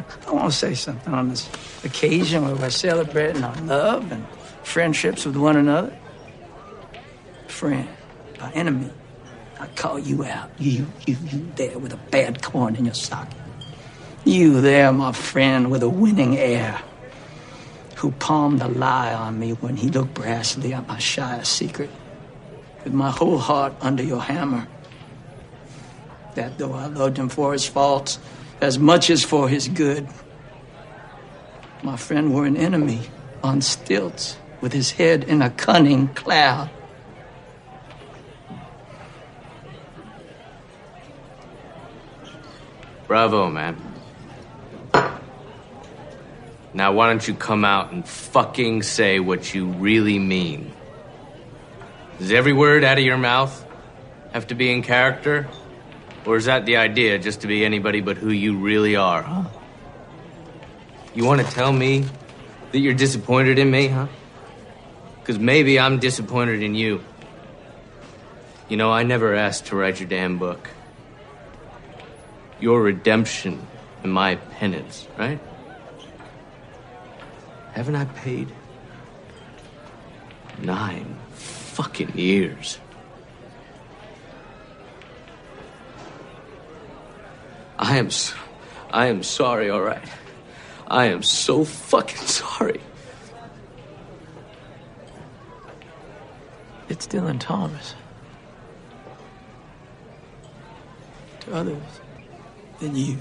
I want to say something on this occasion where we're celebrating our love and friendships with one another. Friend, our enemy. I call you out. You there with a bad corn in your socket. You there, my friend, with a winning air, who palmed a lie on me when he looked brassly at my shyest secret, with my whole heart under your hammer. That though I loved him for his faults as much as for his good, my friend were an enemy on stilts with his head in a cunning cloud. Bravo, man. Now why don't you come out and fucking say what you really mean? Does every word out of your mouth have to be in character? Or is that the idea, just to be anybody but who you really are, huh? You want to tell me that you're disappointed in me, huh? Because maybe I'm disappointed in you. You know, I never asked to write your damn book. Your redemption and my penance, right? Haven't I paid? 9 fucking years. I am sorry, all right? I am so fucking sorry. It's Dylan Thomas. To others than you.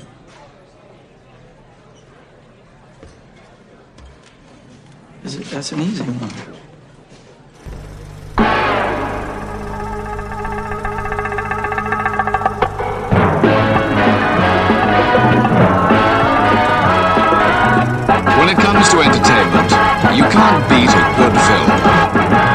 That's an easy one. When it comes to entertainment, you can't beat a good film.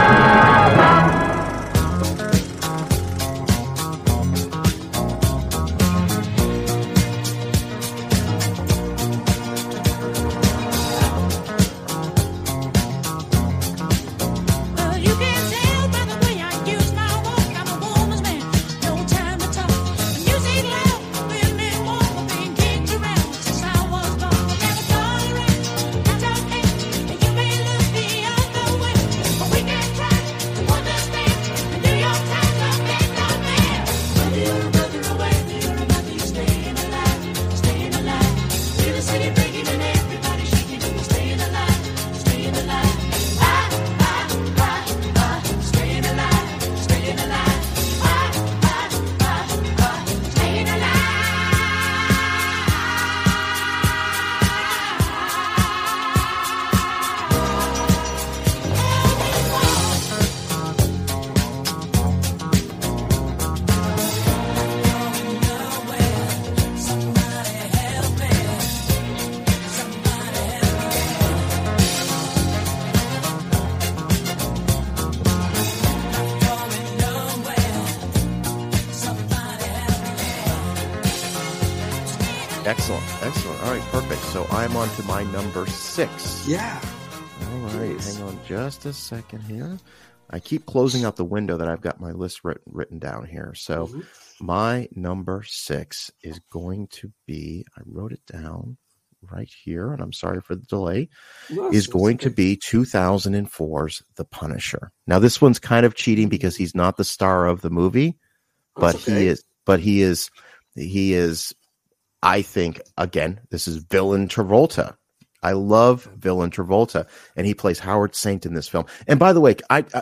Excellent. All right, perfect. So I'm on to my number 6. Yeah. All right, yes. Hang on just a second here. I keep closing out the window that I've got my list written down here. So my number 6 is going to be, I wrote it down right here, and I'm sorry for the delay, is going to be 2004's The Punisher. Now, this one's kind of cheating because he's not the star of the movie, but he is, I think, again, this is Villain Travolta. I love Villain Travolta, and he plays Howard Saint in this film. And by the way,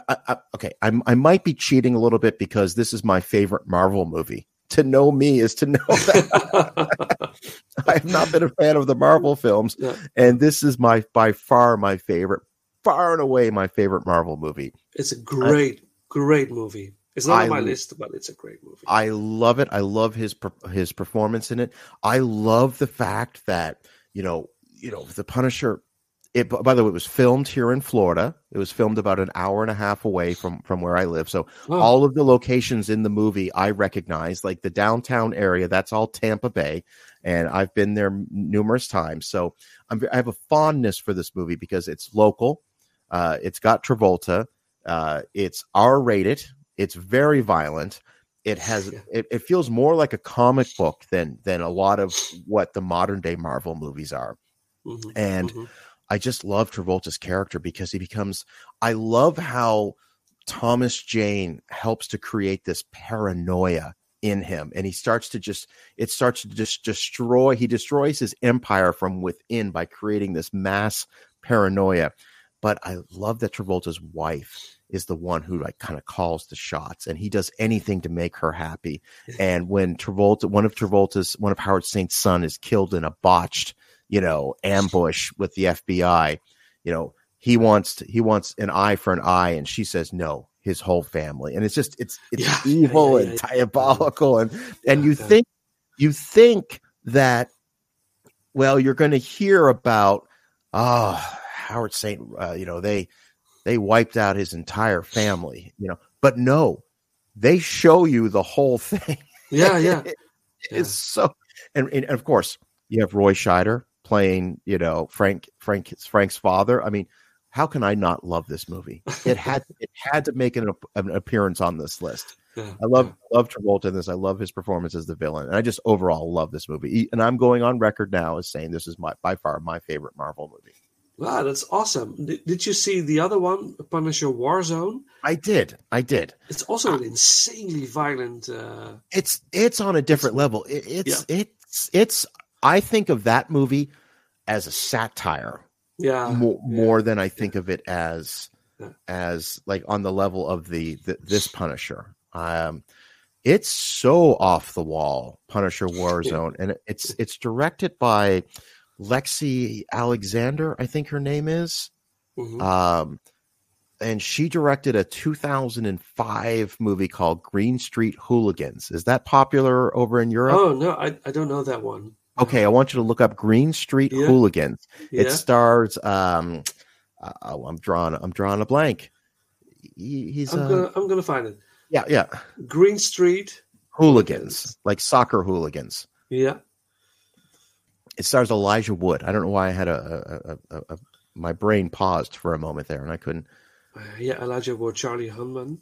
I might be cheating a little bit because this is my favorite Marvel movie. To know me is to know that I have not been a fan of the Marvel films, and this is by far and away my favorite Marvel movie. It's a great movie. It's not on my list, but it's a great movie. I love it. I love his performance in it. I love the fact that the Punisher. By the way, it was filmed here in Florida. It was filmed about an hour and a half away from where I live. So all of the locations in the movie I recognize, like the downtown area, that's all Tampa Bay, and I've been there numerous times. So I have a fondness for this movie because it's local. It's got Travolta. It's R-rated. It's very violent. It has it feels more like a comic book than a lot of what the modern day Marvel movies are. Mm-hmm. And Mm-hmm. I just love Travolta's character because he becomes, I love how Thomas Jane helps to create this paranoia in him. And he starts to destroy, he destroys his empire from within by creating this mass paranoia. But I love that Travolta's wife is the one who like kind of calls the shots, and he does anything to make her happy. And when one of Howard Saint's son is killed in a botched, ambush with the FBI, he wants an eye for an eye, and she says no, his whole family. And it's just it's evil and diabolical, and you think that, well, you're going to hear about Howard Saint, they wiped out his entire family, but no, they show you the whole thing. It's so, and of course you have Roy Scheider playing, Frank's father. I mean, how can I not love this movie? It had to make an appearance on this list. I love Travolta in this. I love his performance as the villain, and I just overall love this movie. And I'm going on record now as saying this is by far my favorite Marvel movie. Wow, that's awesome. Did you see the other one, Punisher Warzone? I did. It's also an insanely violent. It's on a different level. It's. I think of that movie as a satire. More than I think of it as like on the level of this Punisher. It's so off the wall, Punisher Warzone, and it's directed by Lexi Alexander, I think her name is. Mm-hmm. And she directed a 2005 movie called Green Street Hooligans. Is that popular over in Europe? Oh, no, I don't know that one. Okay, I want you to look up Green Street Hooligans. Yeah. It stars I'm drawing a blank. I'm gonna find it. Yeah. Green Street Hooligans, like soccer hooligans. Yeah. It stars Elijah Wood. I don't know why I had my brain paused for a moment there, and I couldn't. Elijah Wood, Charlie Hunnam.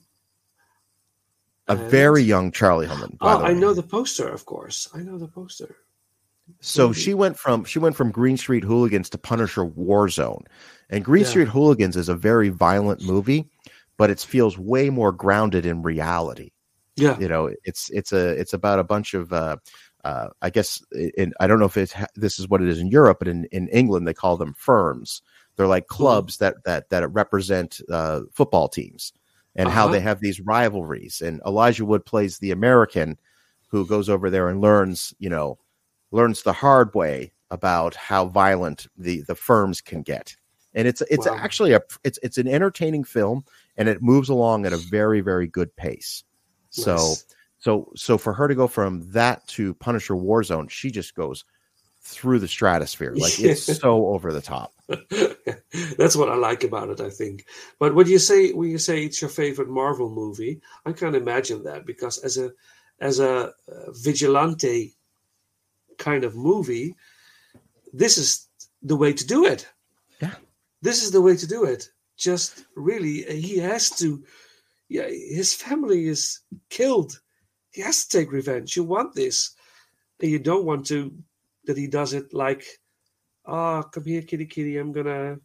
A very young Charlie Hunnam. I know the poster, of course. I know the poster. So she went from Green Street Hooligans to Punisher Warzone, and Green Street Hooligans is a very violent movie, but it feels way more grounded in reality. Yeah, it's about a bunch of. I guess I don't know if this is what it is in Europe, but in England they call them firms. They're like clubs that represent football teams and how they have these rivalries. And Elijah Wood plays the American who goes over there and learns the hard way about how violent the firms can get. And it's actually it's an entertaining film, and it moves along at a very, very good pace. Nice. So for her to go from that to Punisher Warzone, she just goes through the stratosphere. Like it's so over the top. That's what I like about it, I think. But when you say it's your favorite Marvel movie, I can't imagine that, because as a vigilante kind of movie, this is the way to do it. Yeah. This is the way to do it. Just really, he has to. Yeah, his family is killed. He has to take revenge. You want this. And you don't want that he does it like, come here, kitty, kitty, I'm gonna,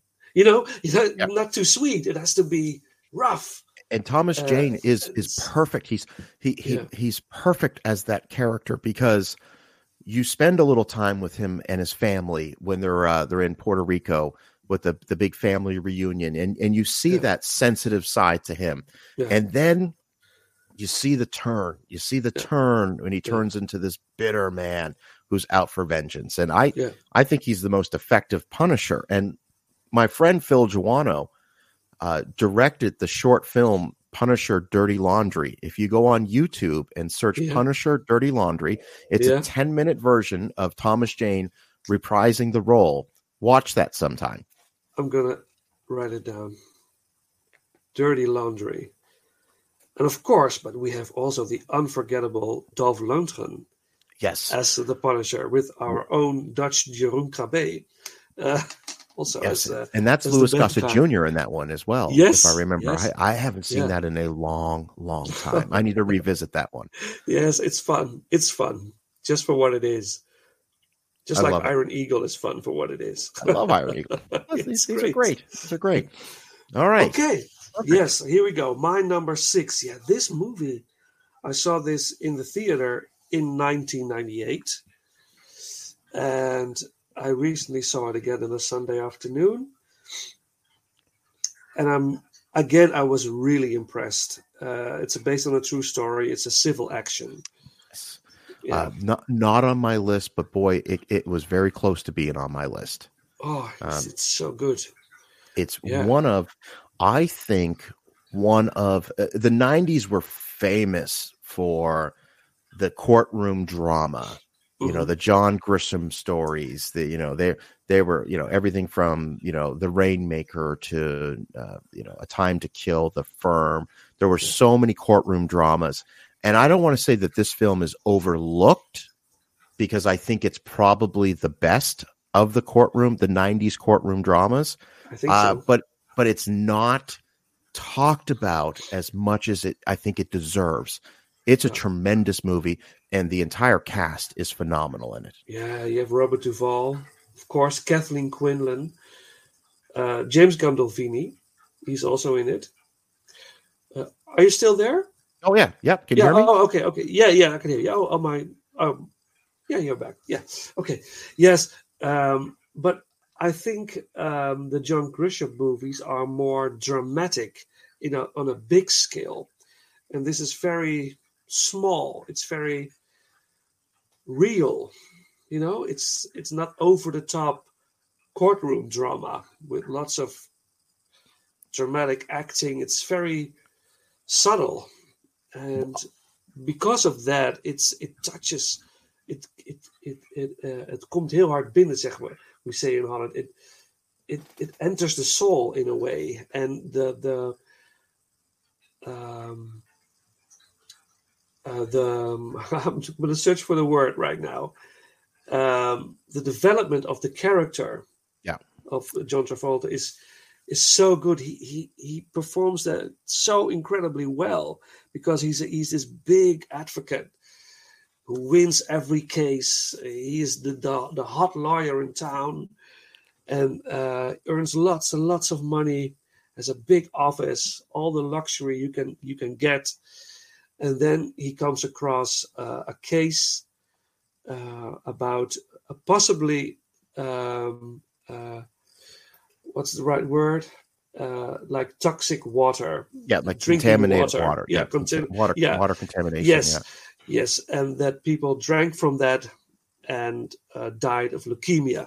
not too sweet. It has to be rough. And Thomas Jane is perfect. He's perfect as that character, because you spend a little time with him and his family when they're in Puerto Rico with the big family reunion, and you see that sensitive side to him. Yeah. And then you see the turn. You see the turn when he turns into this bitter man who's out for vengeance. And I think he's the most effective Punisher. And my friend Phil Joanno directed the short film Punisher Dirty Laundry. If you go on YouTube and search Punisher Dirty Laundry, it's a 10-minute version of Thomas Jane reprising the role. Watch that sometime. I'm going to write it down. Dirty Laundry. And of course, but we have also the unforgettable Dolph Lundgren. Yes. As the Punisher, with our own Dutch Jeroen Krabbe. also Yes, as and that's as Louis the bad Gossett guy. Jr. in that one as well, if I Yes, remember. yes, I haven't seen yeah, that in a long, long time. I need to revisit that one. yes. It's fun. It's fun just for what it is. I Just like love it. Iron Eagle is fun for what it is. I love Iron Eagle. It's These are great. great. These are great. All right. Okay. Perfect. Yes, here we go. My number 6. Yeah, this movie, I saw this in the theater in 1998. And I recently saw it again on a Sunday afternoon. And I was really impressed. It's based on a true story. It's a civil action. Yeah. Not on my list, but boy, it was very close to being on my list. Oh, it's so good. It's Yeah. I think one of the 90s were famous for the courtroom drama. You know, the John Grisham stories, they were, everything from, The Rainmaker to, A Time to Kill, The Firm. There were so many courtroom dramas. And I don't want to say that this film is overlooked, because I think it's probably the best of the 90s courtroom dramas. I think so. But it's not talked about as much as I think it deserves. It's a tremendous movie, and the entire cast is phenomenal in it. Yeah, you have Robert Duvall, of course, Kathleen Quinlan, James Gandolfini. He's also in it. Are you still there? Oh yeah, yep. Can you hear me? Oh, okay. Yeah, I can hear you. Yeah, you're back. Yeah, okay. Yes, but I think the John Grisham movies are more dramatic, on a big scale, and this is very small. It's very real. It's not over the top courtroom drama with lots of dramatic acting. It's very subtle, and because of that, it touches. Het komt heel hard binnen, zeg maar. We say in Holland. It enters the soul in a way, and I'm going to search for the word right now. The development of the character, of John Travolta is so good. He performs that so incredibly well, because he's this big advocate who wins every case. He is the hot lawyer in town, and earns lots and lots of money, has a big office, all the luxury you can get. And then he comes across a case about possibly, what's the right word? Like toxic water. Yeah, like contaminated water. Yeah, water contamination. Yes, yes, and that people drank from that and died of leukemia.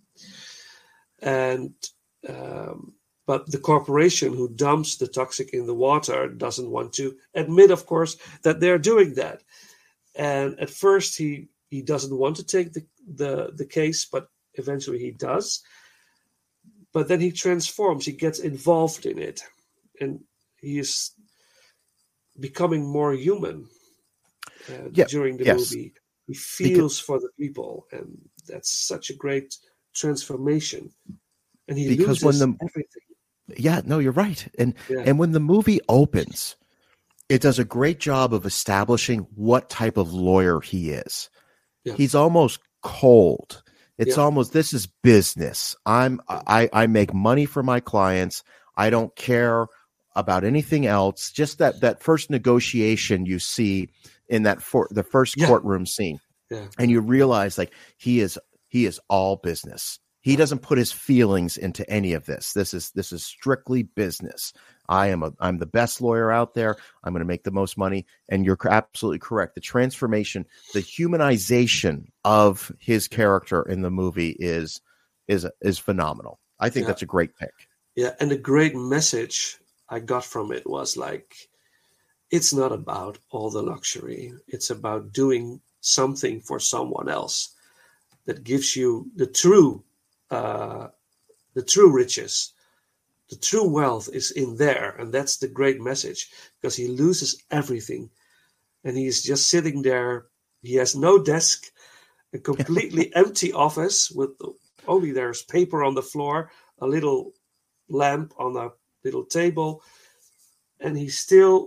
And but the corporation who dumps the toxic in the water doesn't want to admit, of course, that they're doing that. And at first he doesn't want to take the case, but eventually he does. But then he transforms, he gets involved in it, and he is becoming more human during the movie. He feels for the people, and that's such a great transformation. And he loses everything. Yeah, no, you're right. And when the movie opens, it does a great job of establishing what type of lawyer he is. Yeah. He's almost cold. It's almost, this is business. I make money for my clients. I don't care about anything else. Just that first negotiation you see in the first courtroom scene, and you realize like he is all business. He doesn't put his feelings into any of this. This is strictly business. I'm the best lawyer out there. I'm going to make the most money. And you're absolutely correct. The transformation, the humanization of his character in the movie is phenomenal. I think that's a great pick. Yeah, and the great message I got from it was like, it's not about all the luxury. It's about doing something for someone else that gives you the true riches. The true wealth is in there, and that's the great message, because he loses everything and he's just sitting there. He has no desk, a completely empty office with only there's paper on the floor, a little lamp on a little table, and he still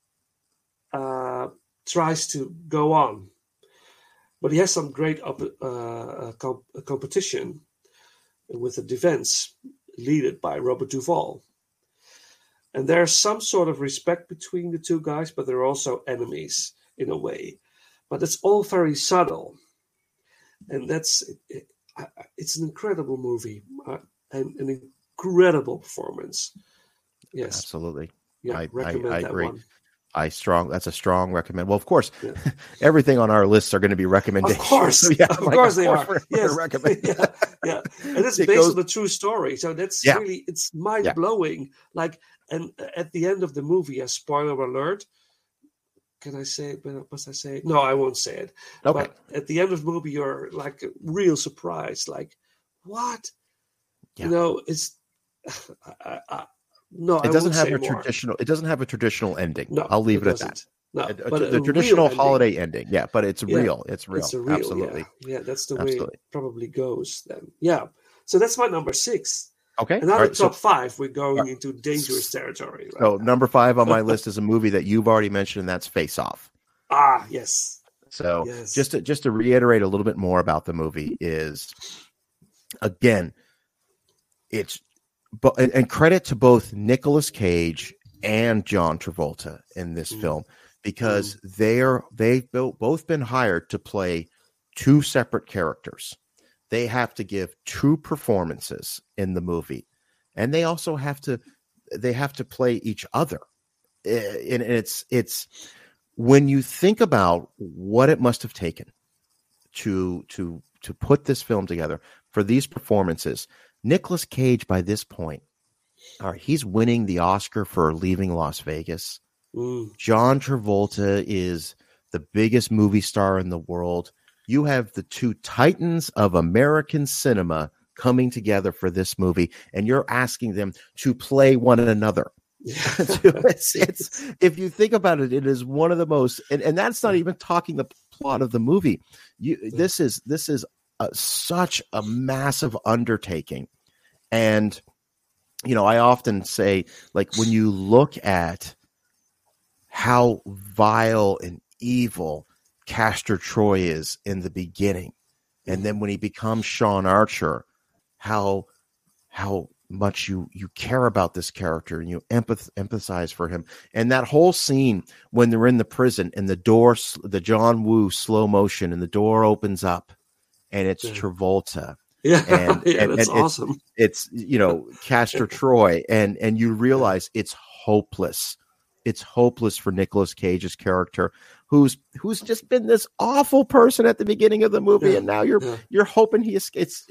tries to go on. But he has some great competition with the defense, led by Robert Duvall. And there's some sort of respect between the two guys, but they're also enemies in a way. But it's all very subtle. And it's an incredible movie and an incredible performance. Yes. Absolutely. Yeah, I recommend that agree. one. That's a strong recommend. Well, of course, everything on our lists are going to be recommendations. Of course, So, yeah, of course they are. Yes, recommend. Yeah. And it's based on a true story, so that's really, it's mind blowing. Like, and at the end of the movie, a spoiler alert. Can I say it? Must I say it? No, I won't say it. Okay. But at the end of the movie, you're like real surprised. Like, what? Yeah. You know, it's. No, it doesn't have a traditional. It doesn't have a traditional ending. No, I'll leave it at that. No, the traditional holiday ending. Yeah, but it's real. It's real. It's real. Absolutely. Yeah, that's the way it probably goes then. Yeah. So that's my number 6. Okay. Another top 5. We're going into dangerous territory. Right so now. Number 5 on my list is a movie that you've already mentioned, and that's Face Off. Ah, yes. So just to reiterate a little bit more about the movie is, again, and credit to both Nicolas Cage and John Travolta in this film, because they've both been hired to play 2 separate characters. They have to give 2 performances in the movie, and they also have to play each other. And it's when you think about what it must have taken to put this film together for these performances. Nicolas Cage, by this point, he's winning the Oscar for Leaving Las Vegas. John Travolta is the biggest movie star in the world. You have the 2 titans of American cinema coming together for this movie, and you're asking them to play one another. It's if you think about it, it is one of the most, and that's not even talking the plot of the movie. This is such a massive undertaking. And, I often say, like, when you look at how vile and evil Castor Troy is in the beginning, and then when he becomes Sean Archer, how much you care about this character and you empathize for him. And that whole scene when they're in the prison and the John Woo slow motion, and the door opens up and it's Travolta. Yeah, and that's awesome. It's Castor Troy, and you realize it's hopeless. It's hopeless for Nicolas Cage's character, who's just been this awful person at the beginning of the movie, and now you're hoping he escapes.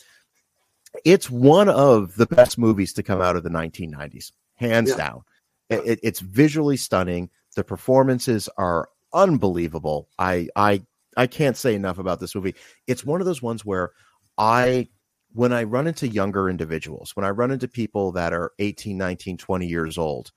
It's one of the best movies to come out of the 1990s, hands down. It's visually stunning. The performances are unbelievable. I can't say enough about this movie. It's one of those ones where when I run into younger individuals, when I run into people that are 18, 19, 20 years old,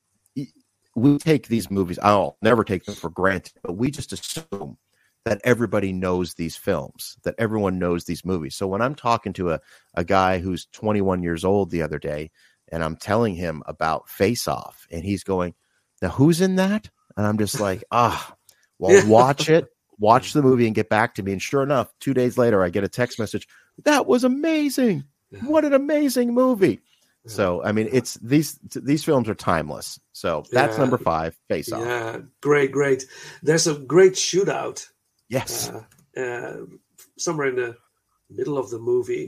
we take these movies, I'll never take them for granted, but we just assume that everybody knows these films, that everyone knows these movies. So when I'm talking to a guy who's 21 years old the other day, and I'm telling him about Face Off, and he's going, now who's in that? And I'm just like, watch it. Watch the movie and get back to me. And sure enough, 2 days later, I get a text message. That was amazing. What an amazing movie. So, I mean, it's these films are timeless. So that's number 5, Face Off. Yeah, great. There's a great shootout. Yes. Somewhere in the middle of the movie.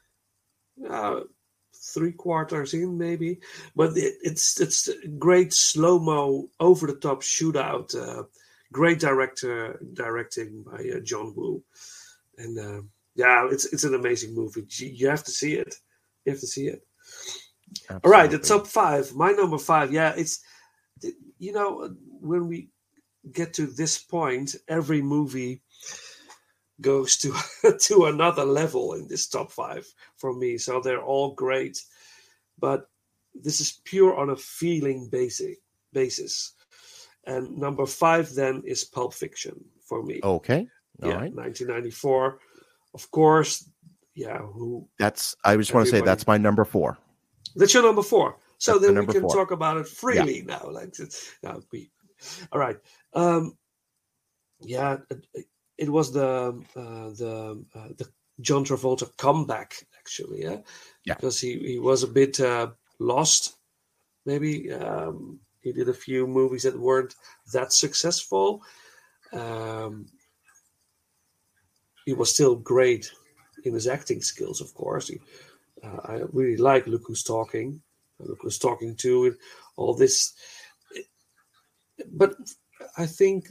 3/4 in maybe. But it's a great slow-mo, over-the-top shootout. Great directing by John Woo, and it's an amazing movie. You have to see it. Absolutely. All right, the top 5. My number 5. Yeah, it's when we get to this point, every movie goes to another level in this top 5 for me. So they're all great, but this is pure on a feeling basis. And number 5 then is Pulp Fiction for me. Okay. All right. right. 1994. Of course, who I just want to say that's my number 4. That's your number 4. So That's then my we number can 4. talk about it freely now. All right. It was the John Travolta comeback, actually. Yeah. Because he was a bit lost. Maybe he did a few movies that weren't that successful. He was still great in his acting skills, of course. I really like Look Who's Talking. Look Who's Talking Too, and all this. But I think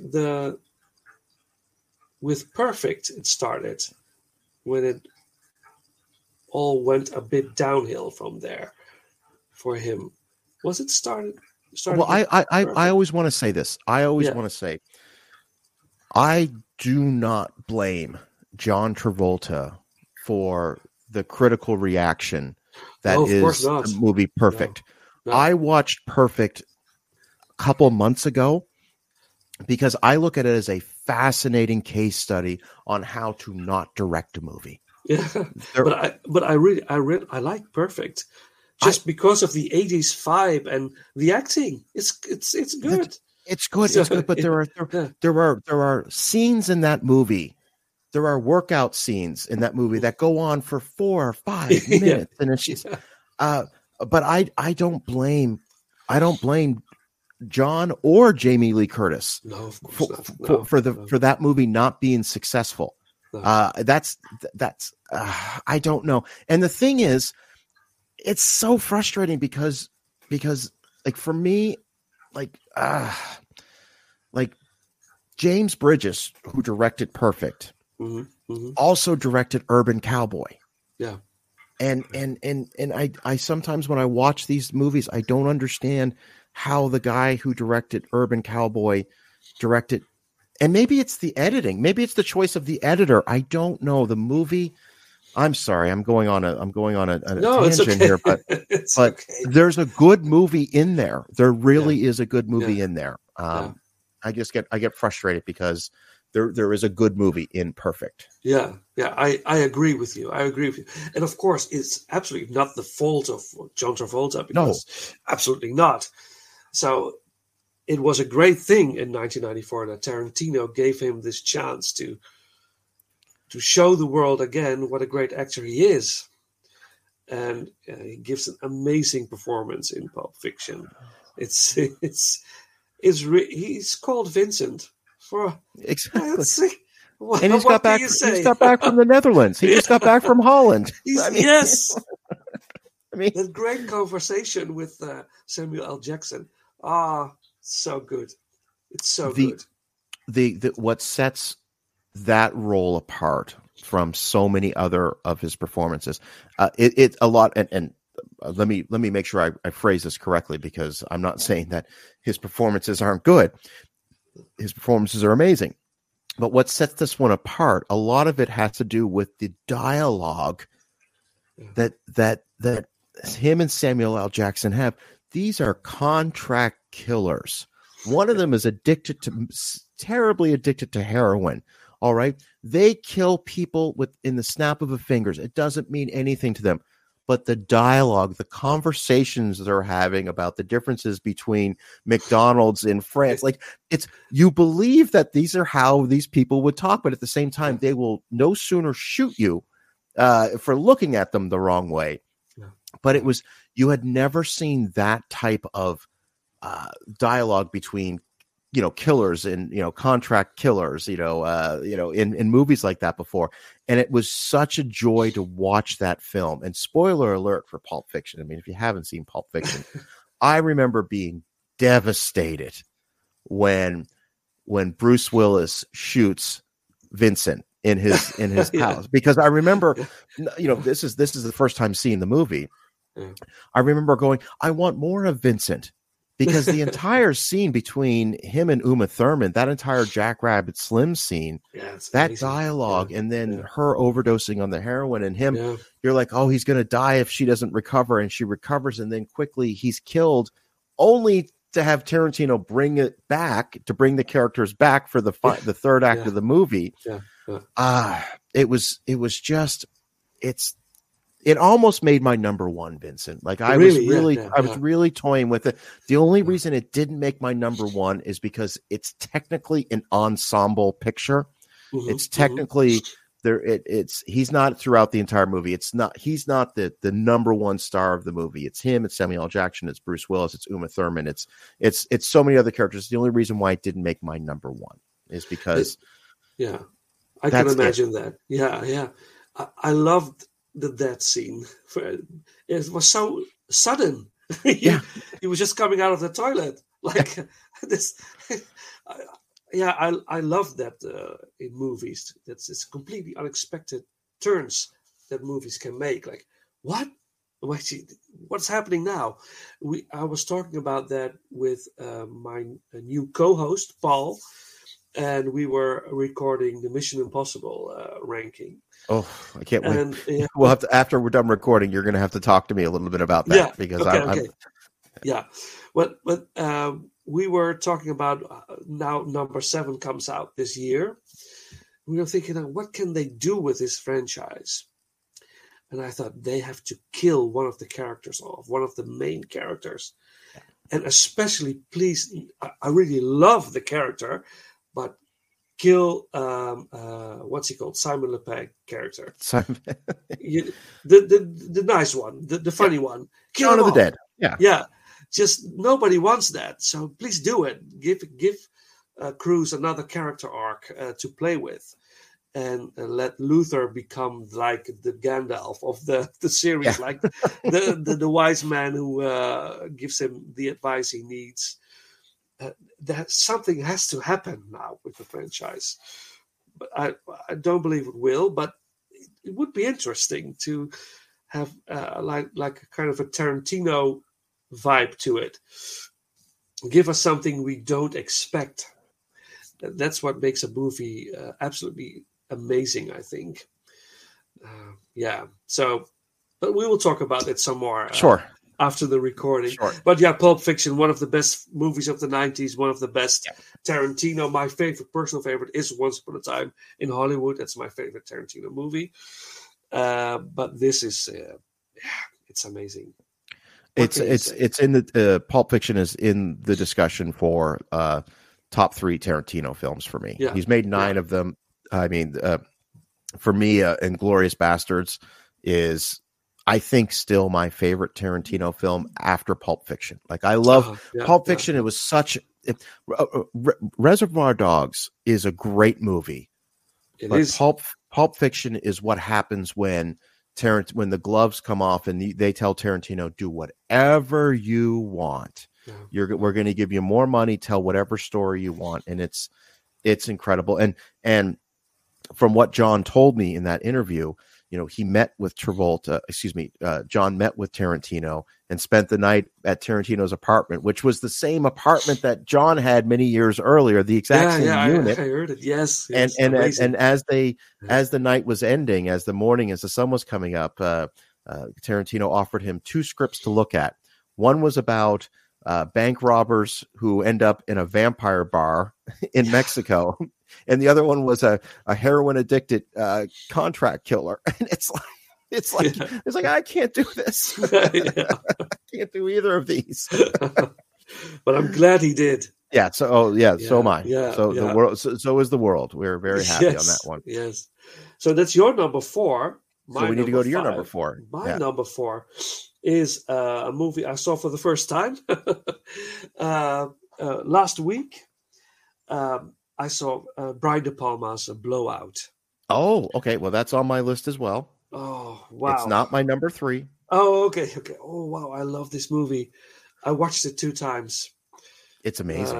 with Perfect, it started when it all went a bit downhill from there for him. Was it started? Well, I always want to say this. I always want to say, I do not blame John Travolta for the critical reaction that is the movie Perfect. No. I watched Perfect a couple months ago because I look at it as a fascinating case study on how to not direct a movie. Yeah, but I like Perfect just because of the 80s vibe and the acting. It's good. It's good, but there are scenes in that movie. There are workout scenes in that movie that go on for 4 or 5 minutes, and it's just. But I don't blame John or Jamie Lee Curtis for that movie not being successful. No. That's I don't know. And the thing is, it's so frustrating because like for me, like James Bridges, who directed Perfect, also directed Urban Cowboy. Yeah. And I sometimes when I watch these movies, I don't understand how the guy who directed Urban Cowboy directed, and maybe it's the editing, maybe it's the choice of the editor. I don't know. The movie. I'm sorry, I'm going on a tangent here, but there's a good movie in there. There really is a good movie in there. I get frustrated because there is a good movie in Perfect. Yeah, I agree with you. And of course, it's absolutely not the fault of John Travolta, because absolutely not. So it was a great thing in 1994 that Tarantino gave him this chance to show the world again what a great actor he is. And he gives an amazing performance in Pulp Fiction. He's called Vincent for exactly. And he's got back from the Netherlands. He just got back from Holland. Yes. That great conversation with Samuel L. Jackson. So good. It's so good. What sets that role apart from so many other of his performances, it's a lot. And let me make sure I phrase this correctly, because I'm not saying that his performances aren't good. His performances are amazing. But what sets this one apart, a lot of it has to do with the dialogue that him and Samuel L. Jackson have. These are contract killers. One of them is terribly addicted to heroin. All right. They kill people in the snap of a fingers. It doesn't mean anything to them. But the dialogue, the conversations they're having about the differences between McDonald's in France, you believe that these are how these people would talk, but at the same time, they will no sooner shoot you for looking at them the wrong way. But you had never seen that type of dialogue between, killers and, contract killers, in movies like that before. And it was such a joy to watch that film. And spoiler alert for Pulp Fiction. I mean, if you haven't seen Pulp Fiction, I remember being devastated when Bruce Willis shoots Vincent in his house, because I remember, this is the first time seeing the movie. I remember going, I want more of Vincent. Because the entire scene between him and Uma Thurman, that entire Jackrabbit Slim scene, that amazing dialogue, and then her overdosing on the heroin, and him, you're like, oh, he's going to die if she doesn't recover, and she recovers, and then quickly he's killed, only to have Tarantino bring the characters back for the third act of the movie. It was just it almost made my number one, Vincent. Like I Really? was really toying with it. The only reason it didn't make my number one is because it's technically an ensemble picture. It's technically there. He's not throughout the entire movie. He's not the number one star of the movie. It's him. It's Samuel L. Jackson. It's Bruce Willis. It's Uma Thurman. It's so many other characters. The only reason why it didn't make my number one is because I can imagine that. Yeah. I loved that scene. It was so sudden. He was just coming out of the toilet like this. I love that in movies. It's completely unexpected turns that movies can make. Like, what? What's happening now? I was talking about that with my new co-host Paul, and we were recording the Mission Impossible ranking. Oh, I can't wait. We'll have to, after we're done recording, you're going to have to talk to me a little bit about that because okay. Yeah. But we were talking about now number 7 comes out this year. We were thinking, what can they do with this franchise? And I thought they have to kill one of the characters off, one of the main characters. And especially, please, I really love the character, but kill what's he called? Simon Le Pegg character. Simon. the nice one, the funny one. Kill Shaun of the Dead. Yeah. Just nobody wants that. So please do it. Give Cruise another character arc to play with, and let Luther become like the Gandalf of the series, like the wise man who gives him the advice he needs. That something has to happen now with the franchise. But I don't believe it will, but it would be interesting to have like a kind of a Tarantino vibe to it. Give us something we don't expect. That's what makes a movie absolutely amazing, I think. So, but we will talk about it some more. Sure. After the recording. Sure. But Pulp Fiction, one of the best movies of the 90s, one of the best. Tarantino, my personal favorite is Once Upon a Time in Hollywood. That's my favorite Tarantino movie. But this is, it's amazing. It's in the Pulp Fiction is in the discussion for top 3 Tarantino films for me. He's made 9 of them. I mean, for me, Inglourious Bastards is, I think, still my favorite Tarantino film after Pulp Fiction. Like, I love Pulp Fiction. It was such Reservoir Dogs is a great movie. It is. Pulp Fiction is what happens when the gloves come off and they tell Tarantino, do whatever you want. We're going to give you more money. Tell whatever story you want, and it's incredible. And from what John told me in that interview, he met with John met with Tarantino and spent the night at Tarantino's apartment, which was the same apartment that John had many years earlier, the exact same unit. I heard it. Yes. And as the night was ending, as the sun was coming up, Tarantino offered him 2 scripts to look at. One was about bank robbers who end up in a vampire bar in Mexico. And the other one was a heroin addicted contract killer. And it's like I can't do this. I can't do either of these. But I'm glad he did. Yeah. So am I. The world. So is the world. We're very happy on that one. Yes. So that's your number 4. So we need to go to your number 4. My number 4 is a movie I saw for the first time last week. I saw Brian De Palma's Blowout. Oh, okay. Well, that's on my list as well. Oh, wow. It's not my number 3. Oh, okay. Oh, wow. I love this movie. I watched it 2 times. It's amazing.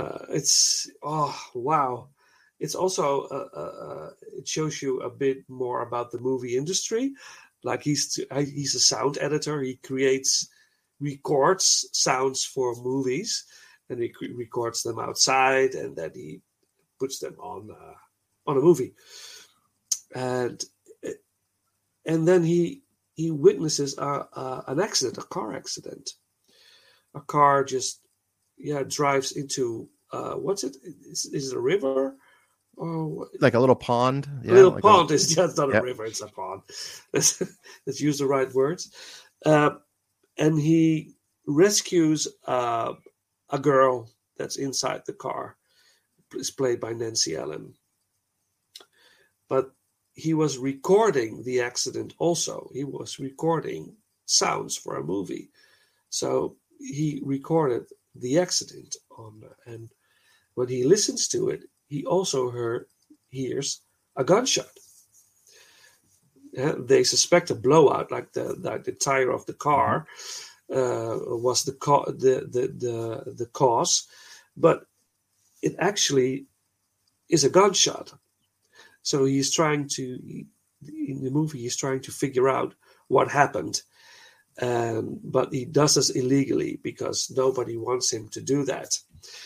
Wow. It's also, it shows you a bit more about the movie industry. Like he's a sound editor. He records sounds for movies, and he records them outside, and then he puts them on a movie, and then he witnesses an accident, a car accident. A car just drives into what's it? Is it a river? Oh, like a little pond. a little like pond is just not a Yep. river; it's a pond. Let's use the right words. And he rescues a girl that's inside the car. It's played by Nancy Allen. But he was recording the accident also. He was recording sounds for a movie. So he recorded the accident and when he listens to it, he also hears a gunshot. They suspect a blowout, like the tire of the car was the cause, but it actually is a gunshot. So in the movie, he's trying to figure out what happened, but he does this illegally because nobody wants him to do that.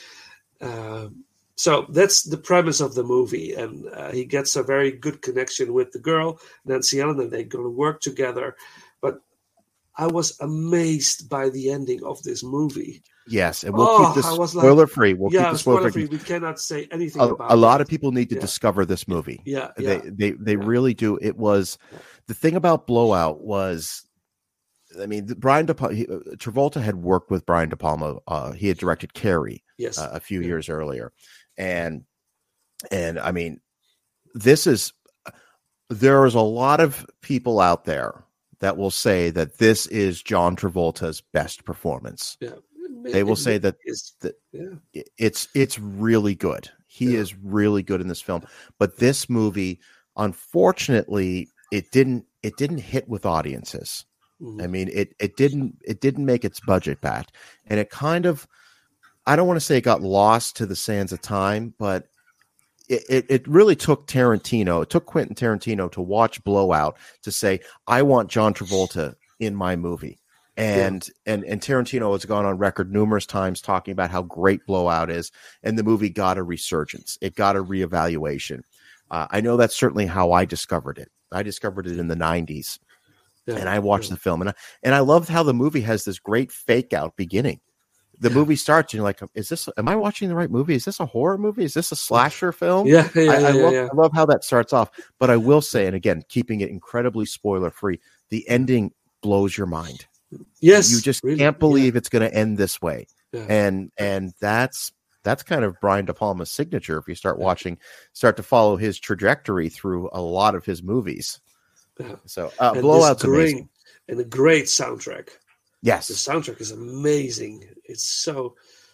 So that's the premise of the movie, and he gets a very good connection with the girl, Nancy Allen, and they're going to work together. But I was amazed by the ending of this movie. Yes, and we'll keep this spoiler free. We'll keep the spoiler free. We cannot say anything about it. A lot of people need to discover this movie. Yeah. They really do. It was the thing about Blowout was, I mean, Travolta had worked with Brian De Palma. He had directed Carrie a few years earlier. And I mean, there is a lot of people out there that will say that this is John Travolta's best performance. Yeah. They will say that it's really good. He is really good in this film. But this movie, unfortunately, it didn't hit with audiences. Mm-hmm. I mean, it didn't make its budget back. And it kind of, I don't want to say it got lost to the sands of time, but it really took Quentin Tarantino to watch Blowout to say, I want John Travolta in my movie. And Tarantino has gone on record numerous times talking about how great Blowout is, and the movie got a resurgence. It got a reevaluation. I know that's certainly how I discovered it. I discovered it in the 90s, and I watched the film, and I loved how the movie has this great fake out beginning. The movie starts, and you're like, am I watching the right movie? Is this a horror movie? Is this a slasher film? I love how that starts off. But I will say, and again, keeping it incredibly spoiler free, the ending blows your mind. Yes. You just can't believe it's going to end this way. Yeah. And that's kind of Brian De Palma's signature. If you start to follow his trajectory through a lot of his movies. Yeah. So Blowout's amazing. And a great soundtrack. Yes. The soundtrack is amazing. It's so,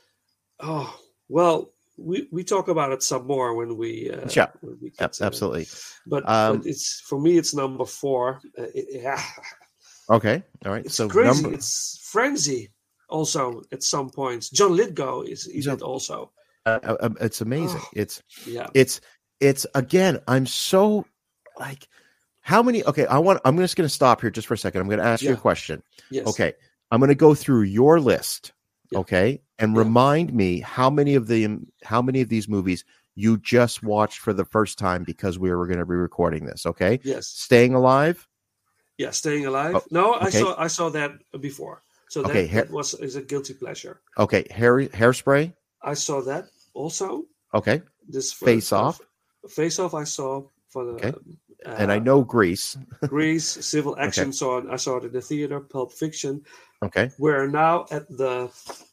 we talk about it some more when we absolutely. But it's, for me, it's number 4. Okay. All right. It's crazy. It's Frenzy also at some points. John Lithgow is it also. It's amazing. It's again, I'm so like, how many, okay, I'm just going to stop here just for a second. I'm going to ask you a question. Yes. Okay. I'm going to go through your list. Okay. And remind me how many of these movies you just watched for the first time because we were going to be recording this. Okay. Yes. Staying Alive. Yeah, Staying Alive. No, okay. I saw that before. So that is a guilty pleasure. Okay, Hairspray. I saw that also. Okay. Face Off. Face Off. I saw for the. Okay. And I know Grease. Grease, Civil Action. Okay. I saw it in the theater. Pulp Fiction. Okay. We're now at the.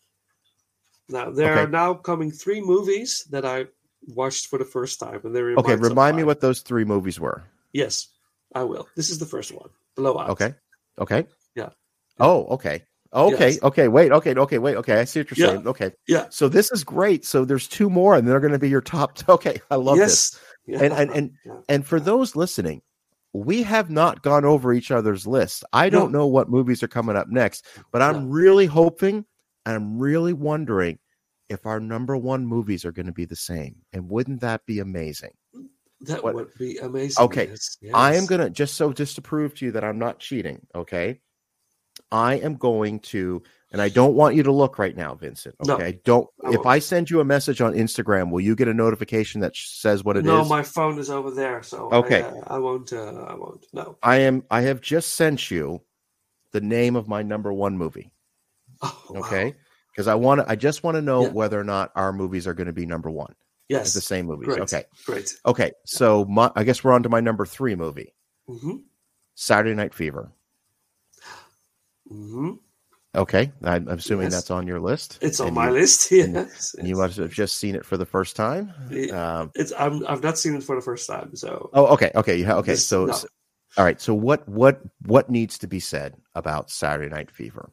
Now there are now coming 3 movies that I watched for the first time, and they remind me what those 3 movies were. Yes, I will. This is the first one. Blowout. Okay. Yeah. Oh, okay. Yes. Okay. Wait. Okay. I see what you're saying. Okay. Yeah. So this is great. So there's 2 more, and they're going to be your top. Okay. I love this. Yeah. And for those listening, we have not gone over each other's lists. I don't know what movies are coming up next, but I'm really hoping and I'm really wondering if our number 1 movies are going to be the same. And wouldn't that be amazing? That would be amazing. Okay. Yes. I am going to, just to prove to you that I'm not cheating, okay? I am going to, and I don't want you to look right now, Vincent, okay? If I send you a message on Instagram, will you get a notification that says what it is? No, my phone is over there, so okay. I won't, no. I have just sent you the name of my number 1 movie, okay? Because I just want to know whether or not our movies are going to be number 1. Yes. The same movies. Great. Okay. Great. Okay. So I guess we're on to my number 3 movie. Mm-hmm. Saturday Night Fever. Mm-hmm. Okay. I'm assuming that's on your list. It's on my list. Yes. And you must have just seen it for the first time. I've not seen it for the first time. So. Oh, okay. Okay. Okay. So, all right. So what needs to be said about Saturday Night Fever?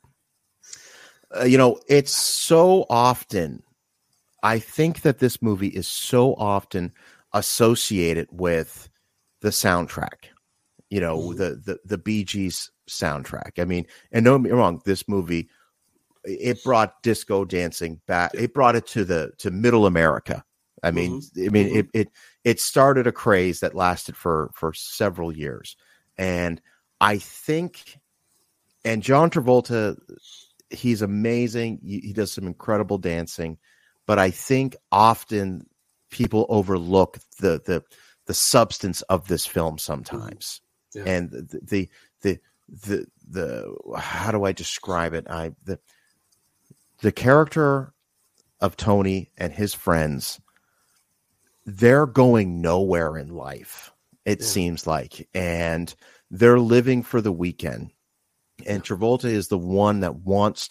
It's so often, I think that this movie is so often associated with the soundtrack, the Bee Gees soundtrack. I mean, and don't get me wrong, this movie, it brought disco dancing back. It brought it to middle America. I mean, it started a craze that lasted for several years. And I think, and John Travolta, he's amazing. He does some incredible dancing, but I think often people overlook the substance of this film sometimes. Yeah. And the how do I describe it? The character of Tony and his friends, they're going nowhere in life, it seems like, and they're living for the weekend. And Travolta is the one that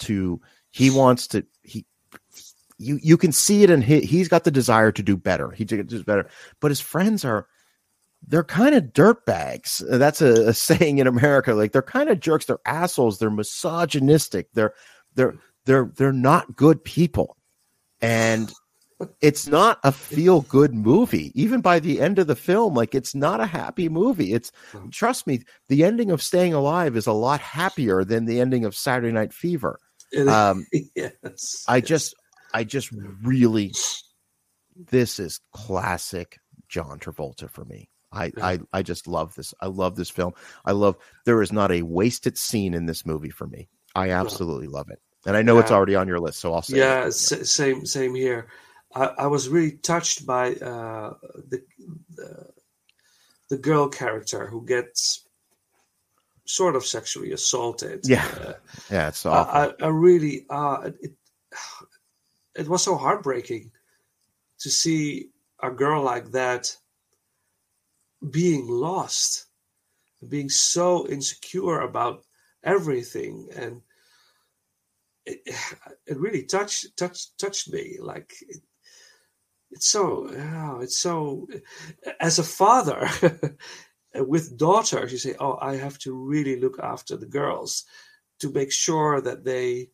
you can see it, and he's got the desire to do better. He does better, but his friends they're kind of dirtbags. That's a saying in America. Like, they're kind of jerks. They're assholes. They're misogynistic. They're not good people. And it's not a feel good movie. Even by the end of the film, like, it's not a happy movie. Trust me, the ending of Staying Alive is a lot happier than the ending of Saturday Night Fever. Yes. I just really, this is classic John Travolta for me. I just love this. I love this film. There is not a wasted scene in this movie for me. I absolutely love it. And I know it's already on your list, so I'll say it. Same here. I was really touched by the girl character who gets sort of sexually assaulted. It's awful. I really it was so heartbreaking to see a girl like that being lost, being so insecure about everything, and it really touched me. Like, it's so as a father with daughters, you say, oh, I have to really look after the girls to make sure that they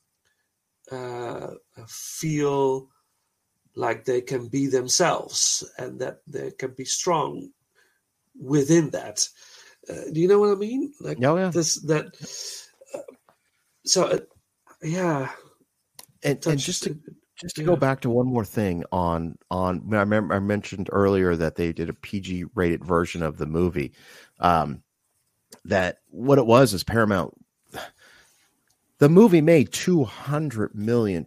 feel like they can be themselves and that they can be strong within that. Do you know what I mean? Like, And just to go back to one more thing on I remember I mentioned earlier that they did a PG rated version of the movie. That what it was is Paramount. The movie made $200+ million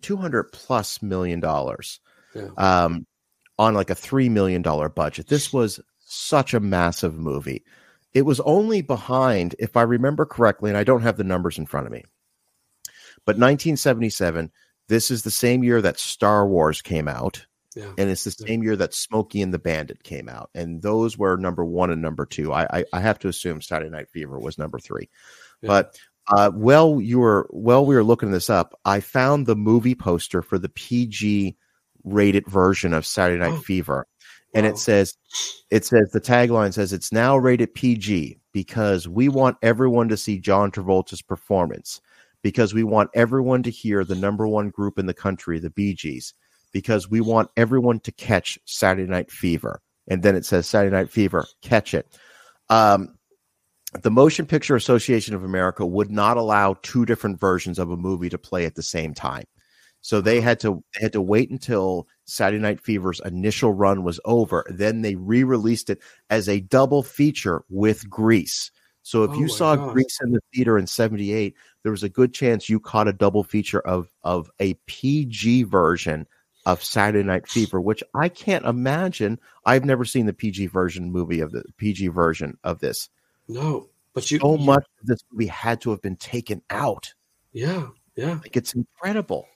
on like a $3 million budget. This was such a massive movie. It was only behind, if I remember correctly, and I don't have the numbers in front of me, but 1977, this is the same year that Star Wars came out. Yeah. And it's the same year that Smokey and the Bandit came out. And those were number 1 and number 2. I have to assume Saturday Night Fever was number 3. Yeah. But while we were looking this up, I found the movie poster for the PG rated version of Saturday Night Fever. And it says the tagline says it's now rated PG because we want everyone to see John Travolta's performance, because we want everyone to hear the number 1 group in the country, the Bee Gees, because we want everyone to catch Saturday Night Fever. And then it says Saturday Night Fever, catch it. The Motion Picture Association of America would not allow 2 different versions of a movie to play at the same time. So they had to wait until Saturday Night Fever's initial run was over. Then they re-released it as a double feature with Grease. So if you saw Grease in the theater in 78, there was a good chance you caught a double feature of a PG version of Saturday Night Fever, which I can't imagine. I've never seen the PG version of this. No, but much of this movie had to have been taken out. Yeah. Like, it's incredible.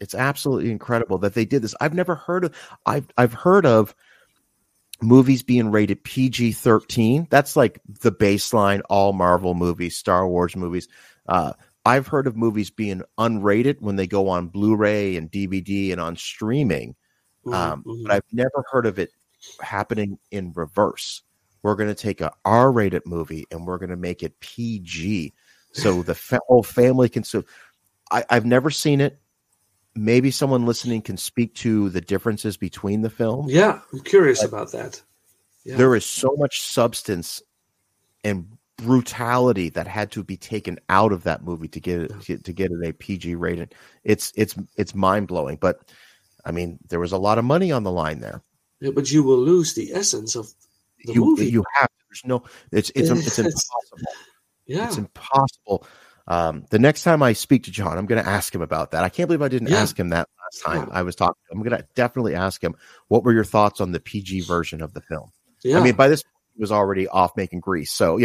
It's absolutely incredible that they did this. I've never heard of. I've heard of movies being rated PG-13. That's like the baseline. All Marvel movies, Star Wars movies. I've heard of movies being unrated when they go on Blu-ray and DVD and on streaming. But I've never heard of it happening in reverse. We're going to take a R-rated movie and we're going to make it PG, so the whole family can. So I've never seen it. Maybe someone listening can speak to the differences between the films. Yeah, I'm curious about that. Yeah. There is so much substance and brutality that had to be taken out of that movie to get it a PG rating. It's mind blowing. But I mean, there was a lot of money on the line there. Yeah, but you will lose the essence of the movie. You have. There's no. It's impossible. Yeah, it's impossible. The next time I speak to John, I'm going to ask him about that. I can't believe I didn't ask him that last time I was talking. I'm going to definitely ask him, what were your thoughts on the PG version of the film? Yeah. I mean, by this point, he was already off making Grease. So,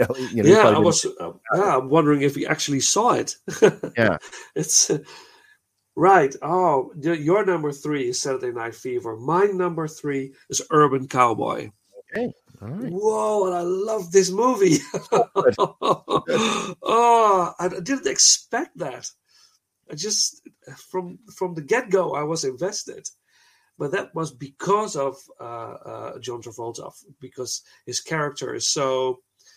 I'm wondering if he actually saw it. Yeah. It's right. Oh, your number 3 is Saturday Night Fever. My number 3 is Urban Cowboy. Okay. All right. Whoa, and I love this movie. I didn't expect that. I just, from the get-go, I was invested. But that was because of John Travolta, because his character is so...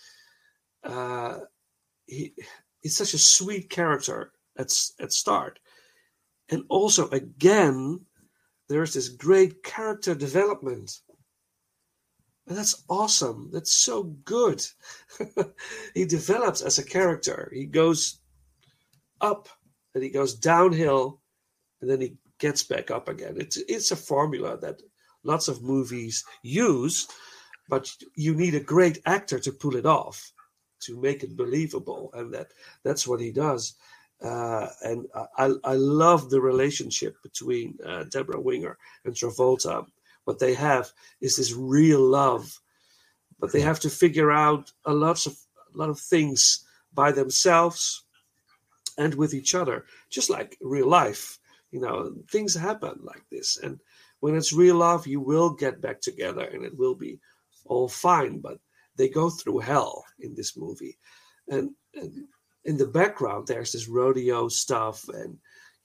he's such a sweet character at start. And also, again, there's this great character development. And that's awesome. That's so good. He develops as a character. He goes up and he goes downhill and then he gets back up again. It's a formula that lots of movies use, but you need a great actor to pull it off, to make it believable. And that's what he does. And I love the relationship between Deborah Winger and Travolta. What they have is this real love, but they have to figure out a lot of things by themselves and with each other, just like real life. Things happen like this, and when it's real love, you will get back together, and it will be all fine. But they go through hell in this movie, and in the background, there's this rodeo stuff, and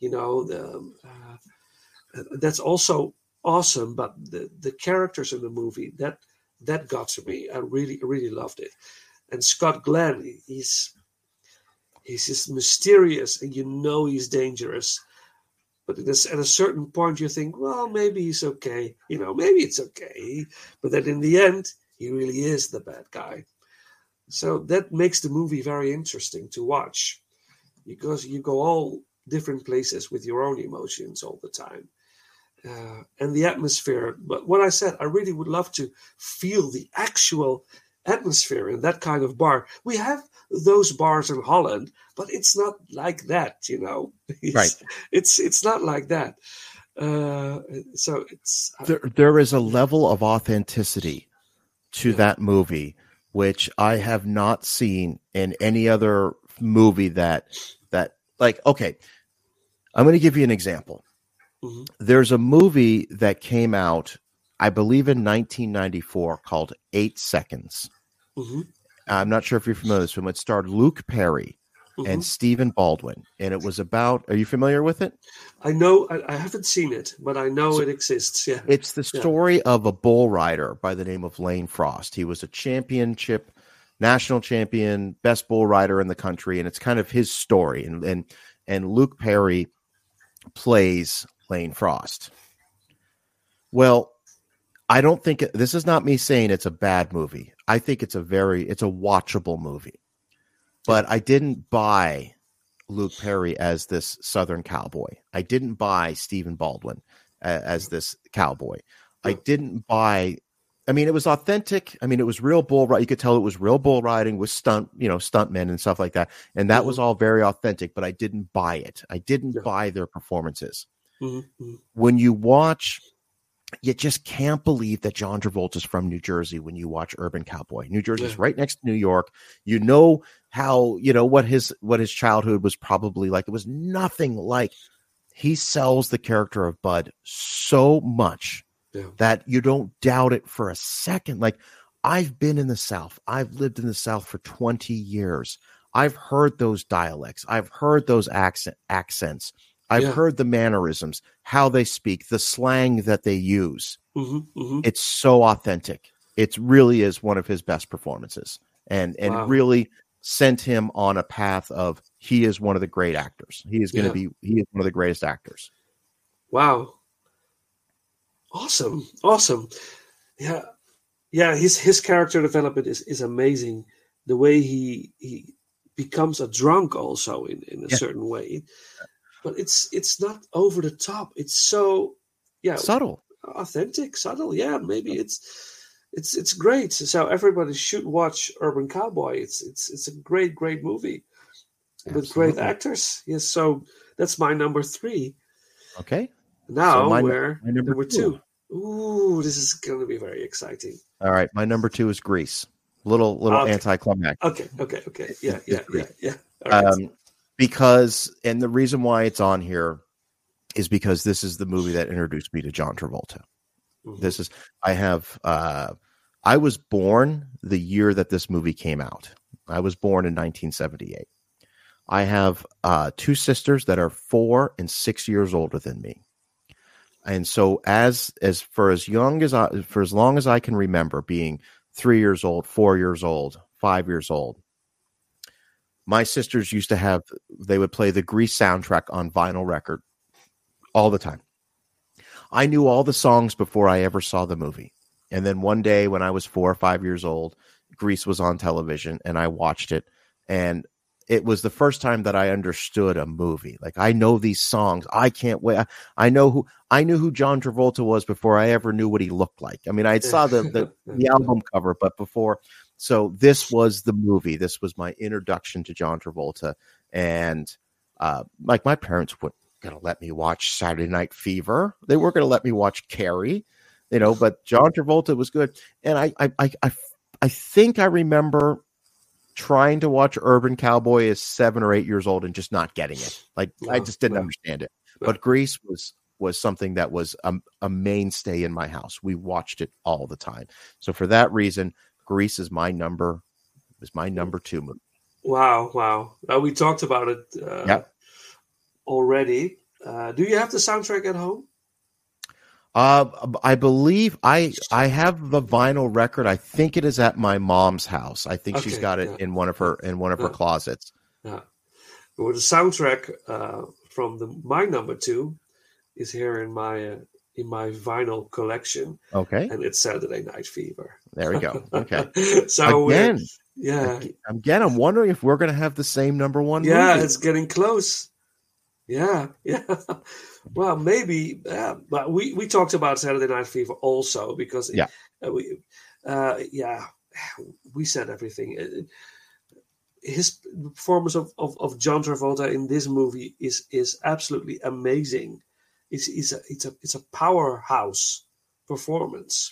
that's also awesome. But the characters in the movie that got to me. I really loved it. And Scott Glenn, he's just mysterious, and he's dangerous. But at a certain point, you think, well, maybe he's okay. Maybe it's okay. But then in the end, he really is the bad guy. So that makes the movie very interesting to watch, because you go all different places with your own emotions all the time. And the atmosphere. But what I said, I really would love to feel the actual atmosphere in that kind of bar. We have those bars in Holland, but it's not like that, Right. It's not like that. So it's there is a level of authenticity to that movie which I have not seen in any other movie that like, okay, I'm going to give you an example. Mm-hmm. There's a movie that came out, I believe, in 1994 called 8 Seconds. Mm-hmm. I'm not sure if you're familiar with this film. It starred Luke Perry and Stephen Baldwin, and it was about, are you familiar with it? I know, I haven't seen it, but I know it exists. Yeah, it's the story of a bull rider by the name of Lane Frost. He was a national champion, best bull rider in the country, and it's kind of his story. And Luke Perry plays Lane Frost. Well, I don't think this is not me saying it's a bad movie. I think it's a watchable movie. But I didn't buy Luke Perry as this Southern cowboy. I didn't buy Stephen Baldwin as this cowboy. I didn't buy. I mean, it was authentic. I mean, it was real bull riding. You could tell it was real bull riding with stuntmen and stuff like that. And that was all very authentic, but I didn't buy it. I didn't buy their performances. Mm-hmm. When you watch, you just can't believe that John Travolta's from New Jersey when you watch Urban Cowboy. New Jersey's right next to New York. How, what his childhood was probably like. It was nothing like he sells the character of Bud so much that you don't doubt it for a second. Like, I've been in the South. I've lived in the South for 20 years. I've heard those dialects. I've heard those accents. I've heard the mannerisms, how they speak, the slang that they use. It's so authentic. It really is one of his best performances, and really sent him on a path of, he is one of the great actors. He is one of the greatest actors. Wow. Awesome. Yeah. His character development is amazing. The way he becomes a drunk also in a certain way, but it's not over the top. It's so subtle, authentic, subtle. Yeah, maybe it's great. So everybody should watch Urban Cowboy. It's a great movie with great actors. Yes, so that's my number 3. Okay. Now so we're number 2. Ooh, this is going to be very exciting. All right, my number 2 is Grease. Little anticlimactic. Okay. Yeah. Right. Because, and the reason why it's on here is because this is the movie that introduced me to John Travolta. I was born the year that this movie came out. I was born in 1978. I have 2 sisters that are 4 and 6 years older than me. And so for as long as I can remember, being 3 years old, 4 years old, 5 years old, my sisters they would play the Grease soundtrack on vinyl record all the time. I knew all the songs before I ever saw the movie. And then one day when I was 4 or 5 years old, Grease was on television and I watched it. And it was the first time that I understood a movie. Like, I know these songs. I can't wait. I knew who John Travolta was before I ever knew what he looked like. I mean, I saw the album cover, but before. So this was the movie. This was my introduction to John Travolta. And like, my parents weren't going to let me watch Saturday Night Fever. They weren't going to let me watch Carrie, but John Travolta was good. And I think I remember trying to watch Urban Cowboy as 7 or 8 years old and just not getting it. Like, I just didn't understand it. But Grease was something that was a mainstay in my house. We watched it all the time. So for that reason, Grease is my number 2 movie. Wow. We talked about it already. Do you have the soundtrack at home? I believe I have the vinyl record. I think it is at my mom's house. I think she's got it in one of her closets. Yeah. Well, the soundtrack from my number 2 is here in my vinyl collection. Okay. And it's Saturday Night Fever. There we go. Okay. So again, I'm wondering if we're going to have the same number 1 movie. Yeah, it's getting close. Yeah. Well, maybe, but we talked about Saturday Night Fever also because we said everything. His performance of John Travolta in this movie is absolutely amazing. It's a powerhouse performance.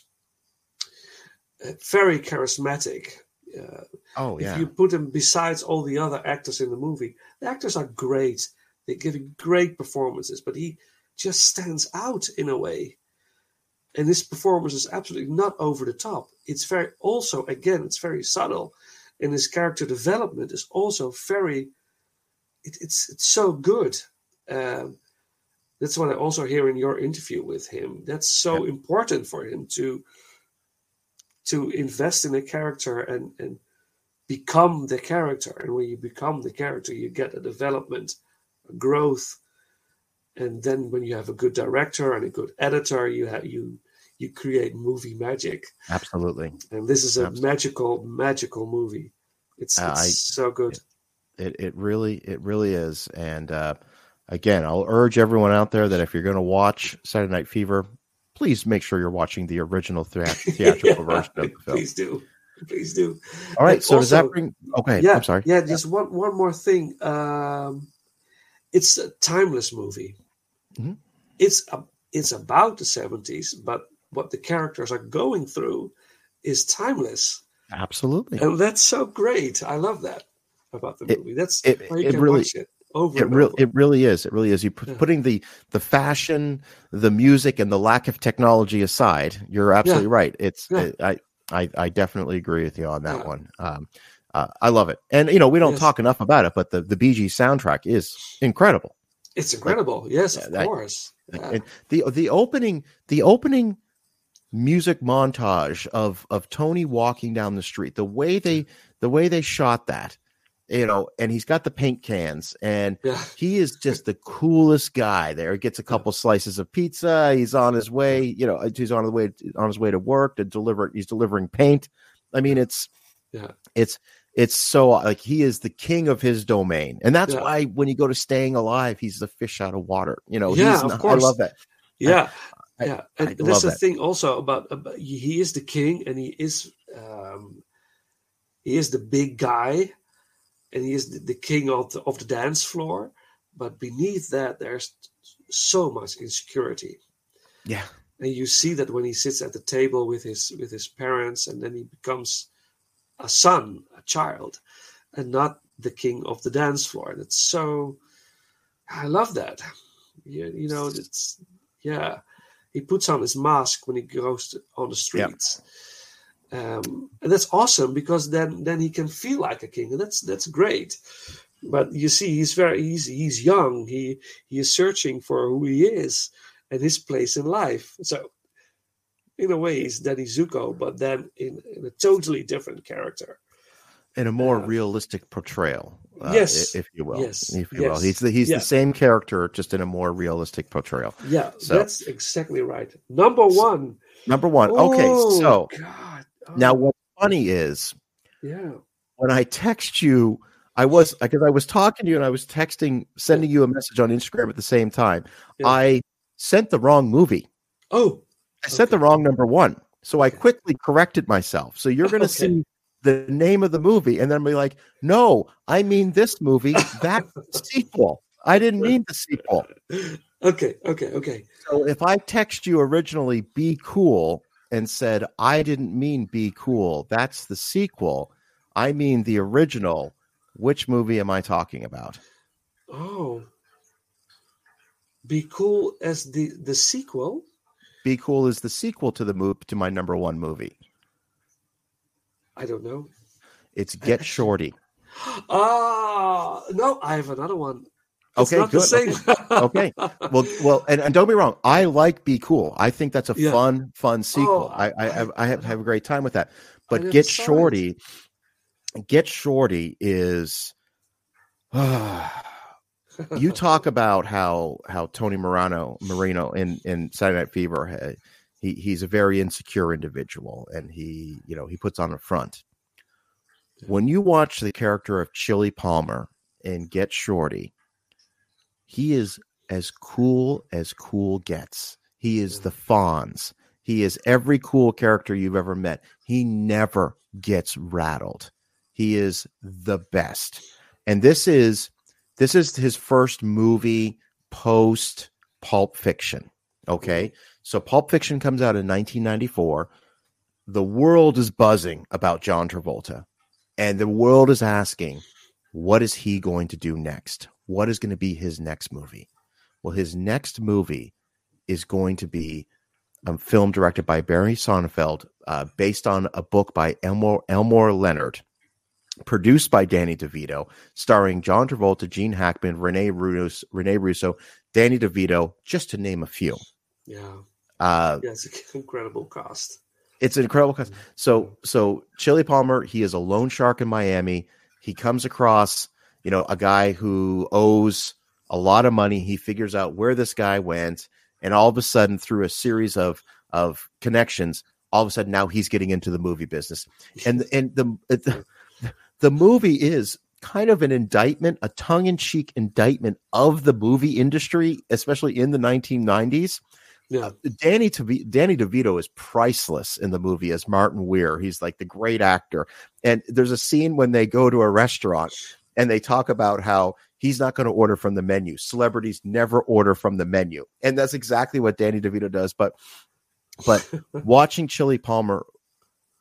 Very charismatic. If you put him besides all the other actors in the movie, the actors are great. They're giving great performances, but he just stands out in a way. And his performance is absolutely not over the top. It's very subtle. And his character development is also it's so good. That's what I also hear in your interview with him. That's so important for him to invest in a character and become the character. And when you become the character, you get a development, growth, and then when you have a good director and a good editor, you create movie magic. Absolutely. And this is a magical movie. It's so good. It really is. And again, I'll urge everyone out there that if you're going to watch Saturday Night Fever, please make sure you're watching the original theatrical version of the film. Please do. All right. So does that bring? Okay. Yeah, I'm sorry. Yeah. Just one more thing. It's a timeless movie. Mm-hmm. It's about the 70s, but what the characters are going through is timeless. Absolutely. And that's so great. I love that about the movie. That's why you can really, watch it over and over. It really is. It really is. Putting the fashion, the music, and the lack of technology aside, you're absolutely right. It's I definitely agree with you on that one. I love it, and we don't talk enough about it, but the Bee Gees soundtrack is incredible. It's incredible. Yes, of course. And the opening music montage of Tony walking down the street, the way they shot that, and he's got the paint cans, and he is just the coolest guy there. He gets a couple slices of pizza. He's on his way, he's on his way to work to deliver. He's delivering paint. I mean, it's so like he is the king of his domain, and that's why when you go to Staying Alive, he's the fish out of water. Of course. I love that. Yeah, and that's the that. thing also about he is the king, and he is the big guy, and he is the king of the dance floor. But beneath that, there's so much insecurity. Yeah, and you see that when he sits at the table with his parents, and then he becomes a son, a child, and not the king of the dance floor. And it's so, I love that. It's he puts on his mask when he goes on the streets. And that's awesome, because then he can feel like a king, and that's great. But you see, he's young. He is searching for who he is and his place in life. So in a way, he's Danny Zuko, but then in a totally different character. In a more realistic portrayal, if you will. Yes. If you will. He's the same character, just in a more realistic portrayal. Yeah, so that's exactly right. Number one. Okay, so God. Now what's funny is when I text you, because I was talking to you and I was sending you a message on Instagram at the same time. I sent the wrong movie. Oh. I sent the wrong number one. So I quickly corrected myself. So you're going to see the name of the movie and then be like, no, I mean this movie. That's the sequel. I didn't mean the sequel. Okay. So if I text you originally Be Cool and said, I didn't mean Be Cool, that's the sequel, I mean the original, which movie am I talking about? Oh. Be Cool as the sequel? Be Cool is the sequel to my number one movie. I don't know. It's Get Shorty. No, I have another one. It's okay, not good. The same. Okay. Well, and don't be wrong. I like Be Cool. I think that's a fun sequel. I have a great time with that. But Get Shorty is. You talk about how Tony Marino in Saturday Night Fever, he's a very insecure individual, and he puts on a front. When you watch the character of Chili Palmer in Get Shorty, he is as cool gets. He is the Fonz. He is every cool character you've ever met. He never gets rattled. He is the best. And this is his first movie post Pulp Fiction. Okay. So Pulp Fiction comes out in 1994. The world is buzzing about John Travolta, and the world is asking, what is he going to do next? What is going to be his next movie? Well, his next movie is going to be a film directed by Barry Sonnenfeld, based on a book by Elmore Leonard, produced by Danny DeVito, starring John Travolta, Gene Hackman, Rene Russo, Danny DeVito, just to name a few. Yeah. It's an incredible cast. It's an incredible cast. So Chili Palmer, he is a loan shark in Miami. He comes across, a guy who owes a lot of money. He figures out where this guy went, and all of a sudden, through a series of connections, all of a sudden now he's getting into the movie business. And the movie is kind of an indictment, a tongue-in-cheek indictment of the movie industry, especially in the 1990s. Yeah. Danny DeVito is priceless in the movie as Martin Weir. He's like the great actor. And there's a scene when they go to a restaurant and they talk about how he's not going to order from the menu. Celebrities never order from the menu. And that's exactly what Danny DeVito does. But watching Chili Palmer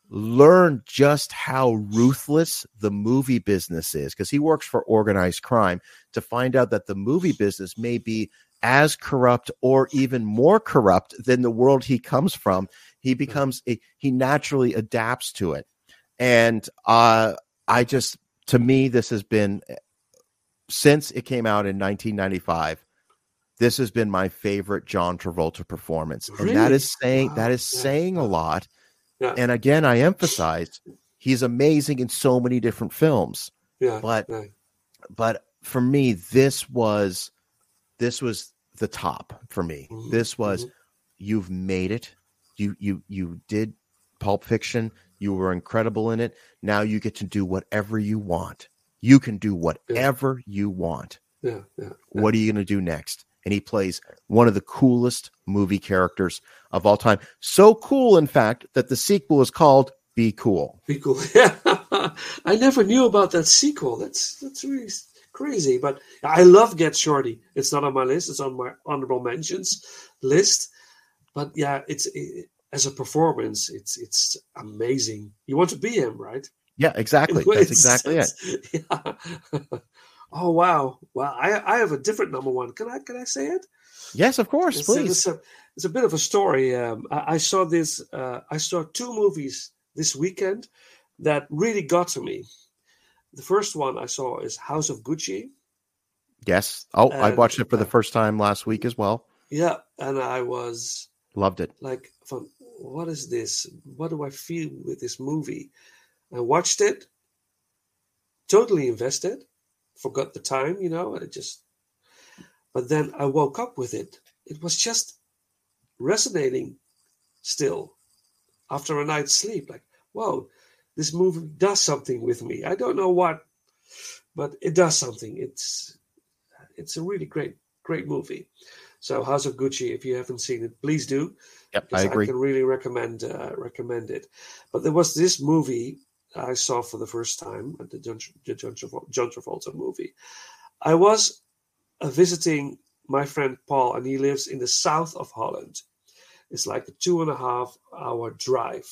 learn just how ruthless the movie business is, because he works for organized crime, to find out that the movie business may be as corrupt or even more corrupt than the world he comes from. He becomes he naturally adapts to it. And to me, this has been, since it came out in 1995, this has been my favorite John Travolta performance. Really? And that is Wow. saying a lot. Yeah. And again, I emphasize he's amazing in so many different films. Yeah. But yeah. but for me, this was the top for me. Mhm, This was, you've made it. You did Pulp Fiction. You were incredible in it. Now you get to do whatever you want. You can do whatever you want. Yeah. What are you going to do next? And he plays one of the coolest movie characters of all time. So cool, in fact, that the sequel is called Be Cool. Be cool. Yeah. I never knew about that sequel. That's really crazy. But I love Get Shorty. It's not on my list. It's on my honorable mentions list. But yeah, as a performance, it's amazing. You want to be him, right? Yeah, exactly. That's exactly it. Yeah. Oh wow! Wow, I have a different number one. Can I say it? Yes, of course, please. It's a bit of a story. I saw this. I saw two movies this weekend that really got to me. The first one I saw is House of Gucci. Yes. Oh, I watched it for the first time last week as well. Yeah, and I was loved it. Like, what is this? What do I feel with this movie? I watched it, totally invested. Forgot the time, but then I woke up with it. It was just resonating still after a night's sleep. Like, whoa, this movie does something with me. I don't know what, but it does something. It's a really great movie. So House of Gucci, if you haven't seen it, please do. Yep, I agree. I can really recommend it. But there was this movie I saw for the first time, the John Travolta movie. I was visiting my friend Paul, and he lives in the south of Holland. It's like a 2.5-hour drive.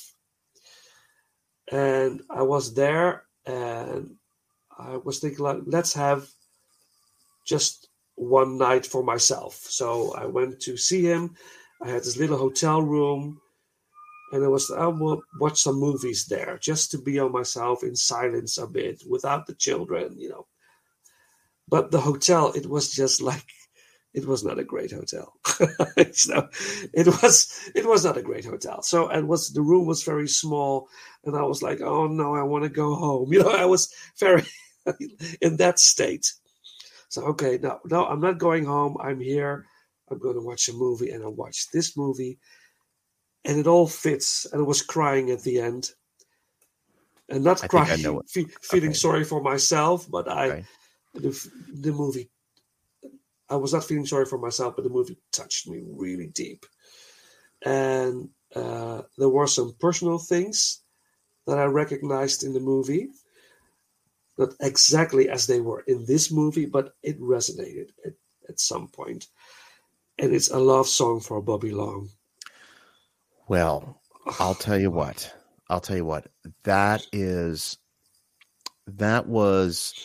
And I was there, and I was thinking, like, let's have just one night for myself. So I went to see him. I had this little hotel room. And I will watch some movies there just to be on myself in silence a bit without the children, But the hotel, it was just like, it was not a great hotel. So it was not a great hotel. So the room was very small, and I was like, oh no, I want to go home. I was very in that state. So okay, no, I'm not going home. I'm here. I'm going to watch a movie, and I watched this movie. And it all fits, and I was crying at the end, and not crying, feeling sorry for myself, but the movie. I was not feeling sorry for myself, but the movie touched me really deep, and there were some personal things that I recognized in the movie, not exactly as they were in this movie, but it resonated at some point, and it's a love song for Bobby Long. Well, I'll tell you what. That was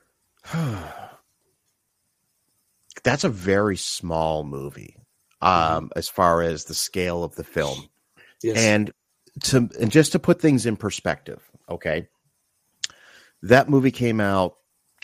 that's a very small movie, as far as the scale of the film. Yes. And just to put things in perspective, okay, that movie came out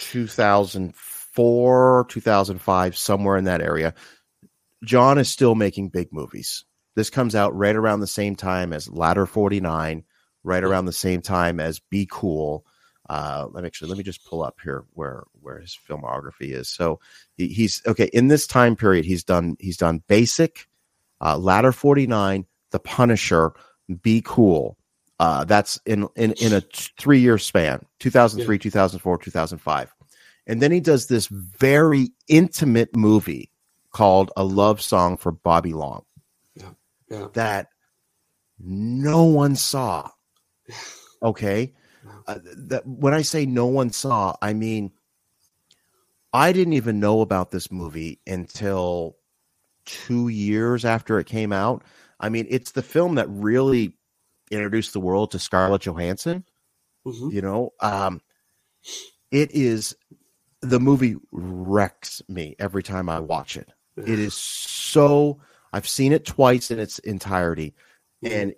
2004, 2005, somewhere in that area. John is still making big movies. This comes out right around the same time as Ladder 49, right around the same time as Be Cool. Let me just pull up here where his filmography is. So he's okay in this time period. He's done Basic, Ladder 49, The Punisher, Be Cool. That's in a 3-year span: 2003, 2004, 2005, and then he does this very intimate movie called A Love Song for Bobby Long. Yeah. That no one saw. Okay. That when I say no one saw, I mean, I didn't even know about this movie until 2 years after it came out. I mean, it's the film that really introduced the world to Scarlett Johansson. Mhm. You know, it is the movie wrecks me every time I watch it. It is so. I've seen it twice in its entirety, and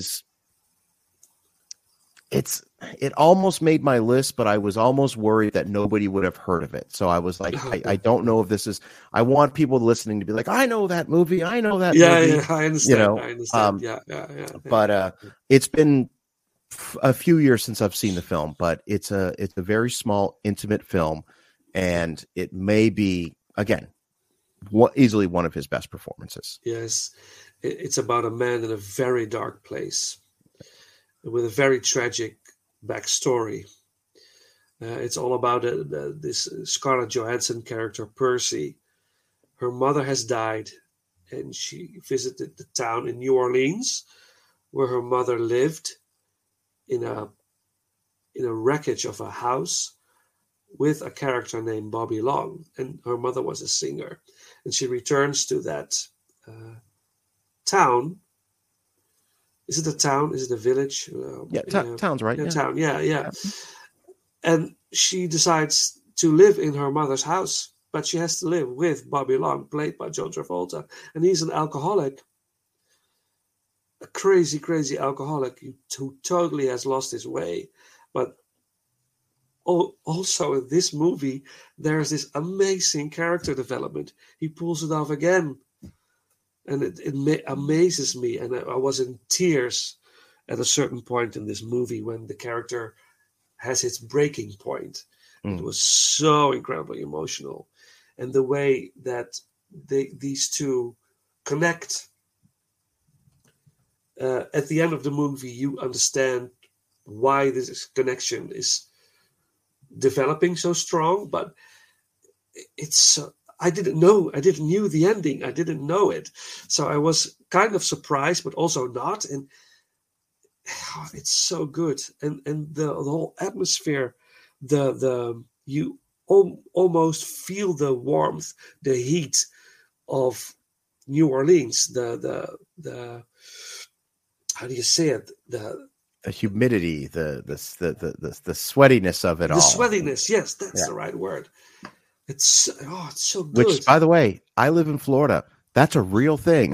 it almost made my list, but I was almost worried that nobody would have heard of it. So I was like, I don't know if this is. I want people listening to be like, I know that movie. I know that movie. Yeah, I understand. You know, I understand. Yeah. But it's been a few years since I've seen the film, but it's a very small, intimate film, and it may be again easily one of his best performances. Yes, it's about a man in a very dark place with a very tragic backstory. It's all about this Scarlett Johansson character, Percy. Her mother has died, and she visited the town in New Orleans where her mother lived in a wreckage of a house with a character named Bobby Long, and her mother was a singer. And she returns to that town. Is it a town? Is it a village? Town's right. Yeah, town. Yeah. And she decides to live in her mother's house, but she has to live with Bobby Long, played by John Travolta, and he's an alcoholic, a crazy, crazy alcoholic who totally has lost his way. But also in this movie, there's this amazing character development. He pulls it off again, and it amazes me. And I was in tears at a certain point in this movie when the character has its breaking point. It was so incredibly emotional, and the way that these two connect. At the end of the movie, you understand why this connection is developing so strong, but I didn't knew the ending. I didn't know it, so I was kind of surprised, but also not. And it's so good, and the whole atmosphere, you almost feel the warmth, the heat of New Orleans. The how do you say it? The humidity, the sweatiness of it all. The sweatiness, yes, that's the right word. It's so good. Which, by the way, I live in Florida. That's a real thing.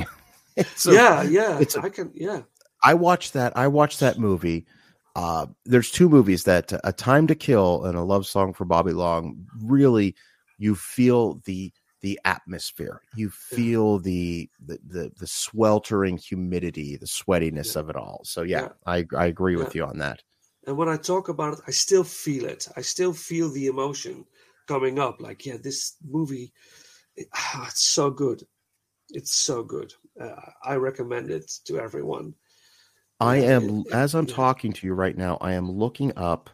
I watched that movie. There's two movies that A Time to Kill and A Love Song for Bobby Long. Really, you feel the atmosphere. You feel the sweltering humidity, the sweatiness of it all. So I agree with you on that. And when I talk about it, I still feel it. I still feel the emotion coming up. Like, this movie, it's so good. It's so good. I recommend it to everyone. I am, as I'm talking to you right now, I am looking up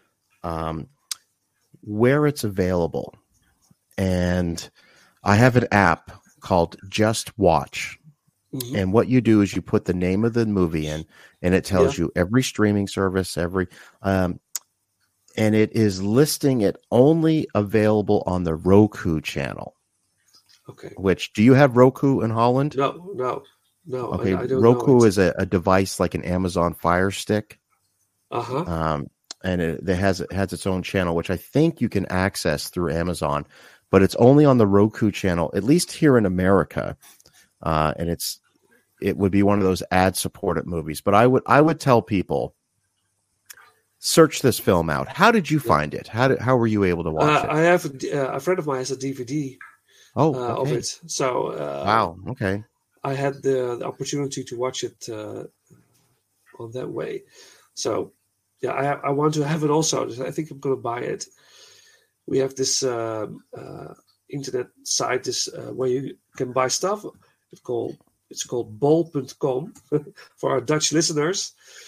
where it's available. And I have an app called Just Watch. Mm-hmm. And what you do is you put the name of the movie in, and it tells you every streaming service, and it is listing it only available on the Roku channel. Okay. Which, do you have Roku in Holland? No. Okay, I don't Roku know. is a device like an Amazon Fire Stick. And it has its own channel, which I think you can access through Amazon, but it's only on the Roku channel, at least here in America. And it would be one of those ad-supported movies. But I would tell people, search this film out. How did you find it? How were you able to watch it? I have a friend of mine has a DVD of it. So wow, okay. I had the opportunity to watch it on that way. So I want to have it also. I think I'm going to buy it. We have this internet site where you can buy stuff. It's called bol.com for our Dutch listeners.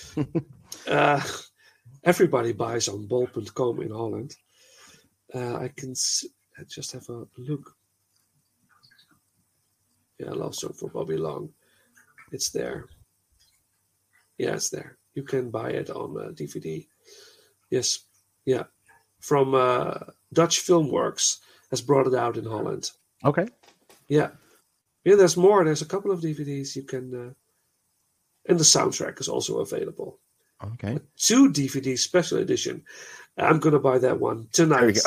Everybody buys on bol.com in Holland. I just have a look. Yeah, Love Song for Bobby Long. It's there. Yeah, it's there. You can buy it on DVD. Yes. Yeah. From Dutch Filmworks has brought it out in Holland. Okay. Yeah. Yeah, there's more. There's a couple of DVDs you can And the soundtrack is also available. Okay. 2 DVD special edition. I'm going to buy that one tonight.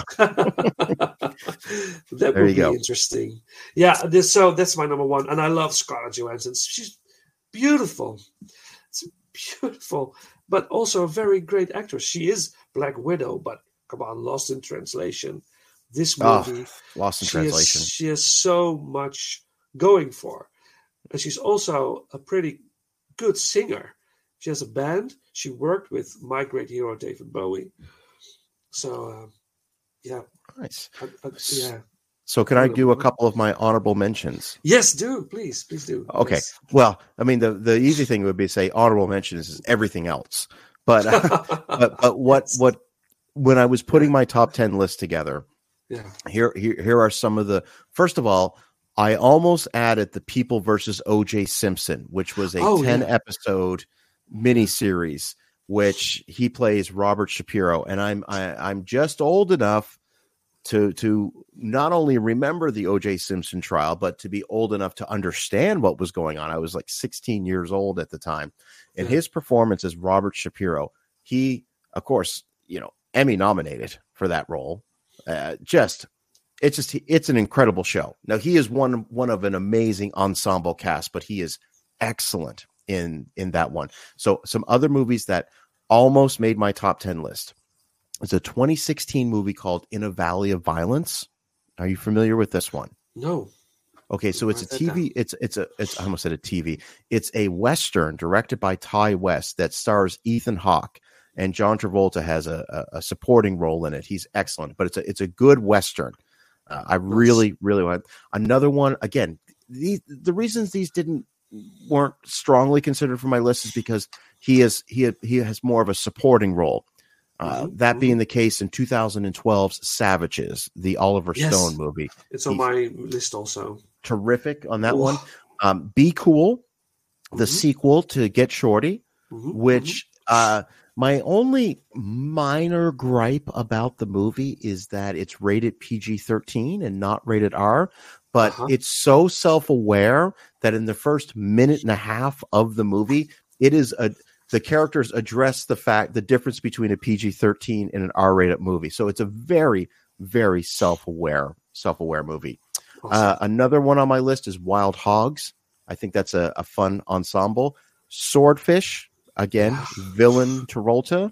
That would be interesting. Yeah, so that's my number 1. And I love Scarlett Johansson. She's beautiful. It's beautiful. But also a very great actress. She is Black Widow, but come on, Lost in Translation. This movie, Lost in Translation. She has so much going for her. And she's also a pretty good singer. She has a band. She worked with my great hero, David Bowie. So, yeah. Nice. Yeah. So can I do a couple of my honorable mentions? Yes, do. Please do. Okay. Yes. Well, I mean, the easy thing would be to say honorable mentions is everything else. But what when I was putting my top 10 list together, here are some of the. First of all, I almost added The People versus O.J. Simpson, which was a 10-episode miniseries, which he plays Robert Shapiro, and I'm just old enough to not only remember the O.J. Simpson trial, but to be old enough to understand what was going on. I was like 16 years old at the time, and his performance as Robert Shapiro, he, of course, Emmy nominated for that role. It's an incredible show. Now, he is one of an amazing ensemble cast, but he is excellent in that one. So some other movies that almost made my top 10 list. It's a 2016 movie called In a Valley of Violence. Are you familiar with this one? No. Okay, so it's a TV. It's I almost said a TV. It's a Western directed by Ty West that stars Ethan Hawke, and John Travolta has a supporting role in it. He's excellent, but it's a good Western. I really want another one. Again, the reasons these weren't strongly considered for my list is because he has more of a supporting role. That being the case in 2012's Savages, the Oliver Stone movie. It's on my list also. Terrific on that one. Be Cool, the sequel to Get Shorty, which my only minor gripe about the movie is that it's rated PG-13 and not rated R, but it's so self-aware that in the first minute and a half of the movie, the characters address the difference between a PG-13 and an R-rated movie. So it's a very, very self-aware movie. Awesome. Another one on my list is Wild Hogs. I think that's a fun ensemble. Swordfish, again, Villain Travolta.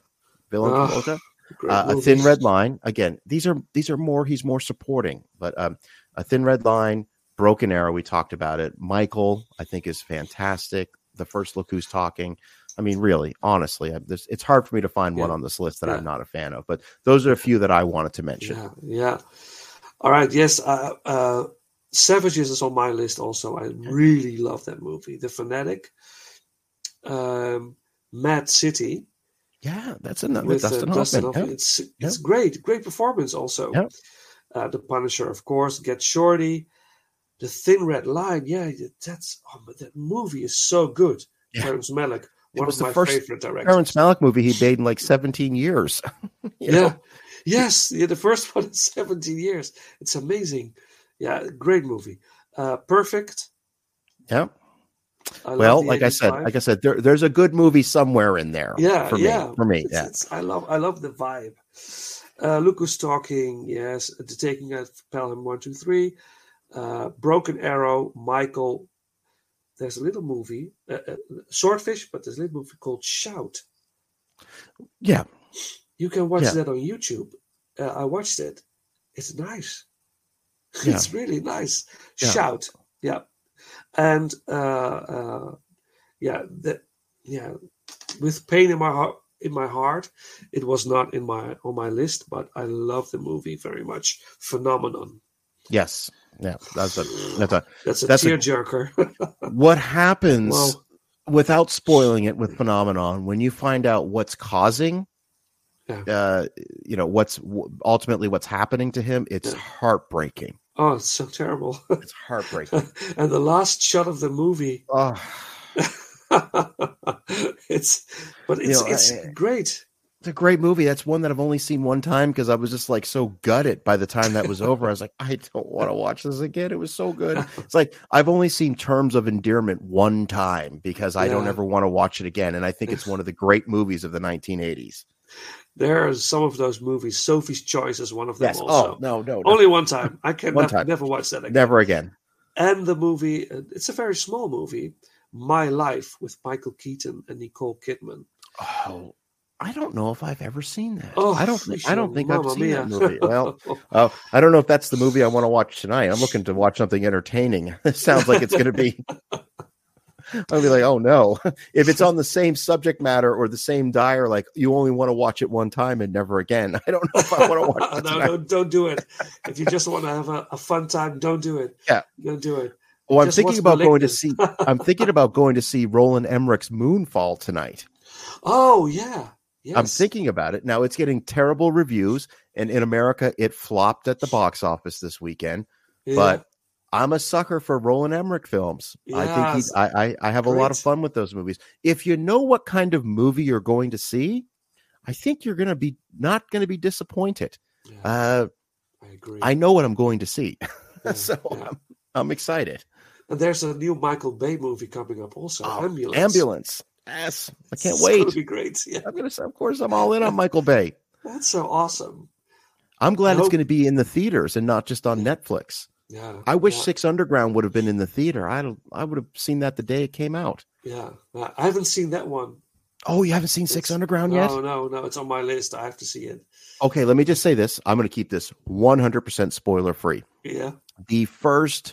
A Thin Red Line. Again, these are more. He's more supporting, but A Thin Red Line, Broken Arrow. We talked about it. Michael, I think, is fantastic. The First Look Who's Talking. I mean, really, honestly, it's hard for me to find one on this list that I'm not a fan of, but those are a few that I wanted to mention. Yeah. All right. Yes. Savages is on my list also. I really love that movie. The Fanatic, Mad City. Yeah, that's another Dustin Hoffman. It's great performance also. Yeah. The Punisher, of course. Get Shorty, The Thin Red Line. Yeah, that movie is so good. Yeah. Terrence Malick, one of my favorite directors. Terrence Malick movie he made in like 17 years. Yes. Yeah, the first one in 17 years. It's amazing. Yeah, great movie. Perfect. Yeah. Well, like I said, there's a good movie somewhere in there. Yeah, for me. I love the vibe. Look Who's Talking. Yes, The Taking of Pelham 1, 2, 3. Broken Arrow. Michael. There's a little movie, Swordfish, but there's a little movie called Shout. Yeah, you can watch that on YouTube. I watched it. It's nice. Yeah. It's really nice. Yeah. Shout. Yeah. And with Pain in my heart, it was not on my list, but I love the movie very much. Phenomenon. Yes. Yeah. That's a tearjerker. What happens without spoiling it with Phenomenon when you find out what's causing what's ultimately what's happening to him, it's heartbreaking. Oh, it's so terrible. It's heartbreaking. And the last shot of the movie. Oh. it's great. It's a great movie. That's one that I've only seen one time because I was just like so gutted by the time that was over. I was like, I don't want to watch this again. It was so good. It's like I've only seen Terms of Endearment one time because I don't ever want to watch it again. And I think it's one of the great movies of the 1980s. There are some of those movies. Sophie's Choice is one of them. Yes. Also. Oh, no. Only one time. I can never watch that again. Never again. And the movie, it's a very small movie, My Life with Michael Keaton and Nicole Kidman. Oh, I don't know if I've ever seen that. Oh, I don't think I've seen mia. that movie. Well, I don't know if that's the movie I want to watch tonight. I'm looking to watch something entertaining. It sounds like it's going to be. I'll be like, oh no! If it's on the same subject matter or the same dire, like you only want to watch it one time and never again. I don't know if I want to watch it. No, don't do it. If you just want to have a fun time, don't do it. Yeah, don't do it. Well, I'm thinking about going to see. I'm thinking about going to see Roland Emmerich's Moonfall tonight. Oh yeah. Yes. I'm thinking about it. Now it's getting terrible reviews, and in America it flopped at the box office this weekend. Yeah. But I'm a sucker for Roland Emmerich films. Yes. I think I have a lot of fun with those movies. If you know what kind of movie you're going to see, I think you're going to be not going to be disappointed. Yeah. I agree. I know what I'm going to see. So I'm excited. And there's a new Michael Bay movie coming up also. Ambulance. Yes, I can't wait. It's going to be great. Yeah. Of course, I'm all in on Michael Bay. That's so awesome. I'm glad it's going to be in the theaters and not just on Netflix. Yeah. I wish Six Underground would have been in the theater. I would have seen that the day it came out. Yeah. I haven't seen that one. Oh, you haven't seen Six Underground yet? No. It's on my list. I have to see it. Okay, let me just say this. I'm going to keep this 100% spoiler free. Yeah. The first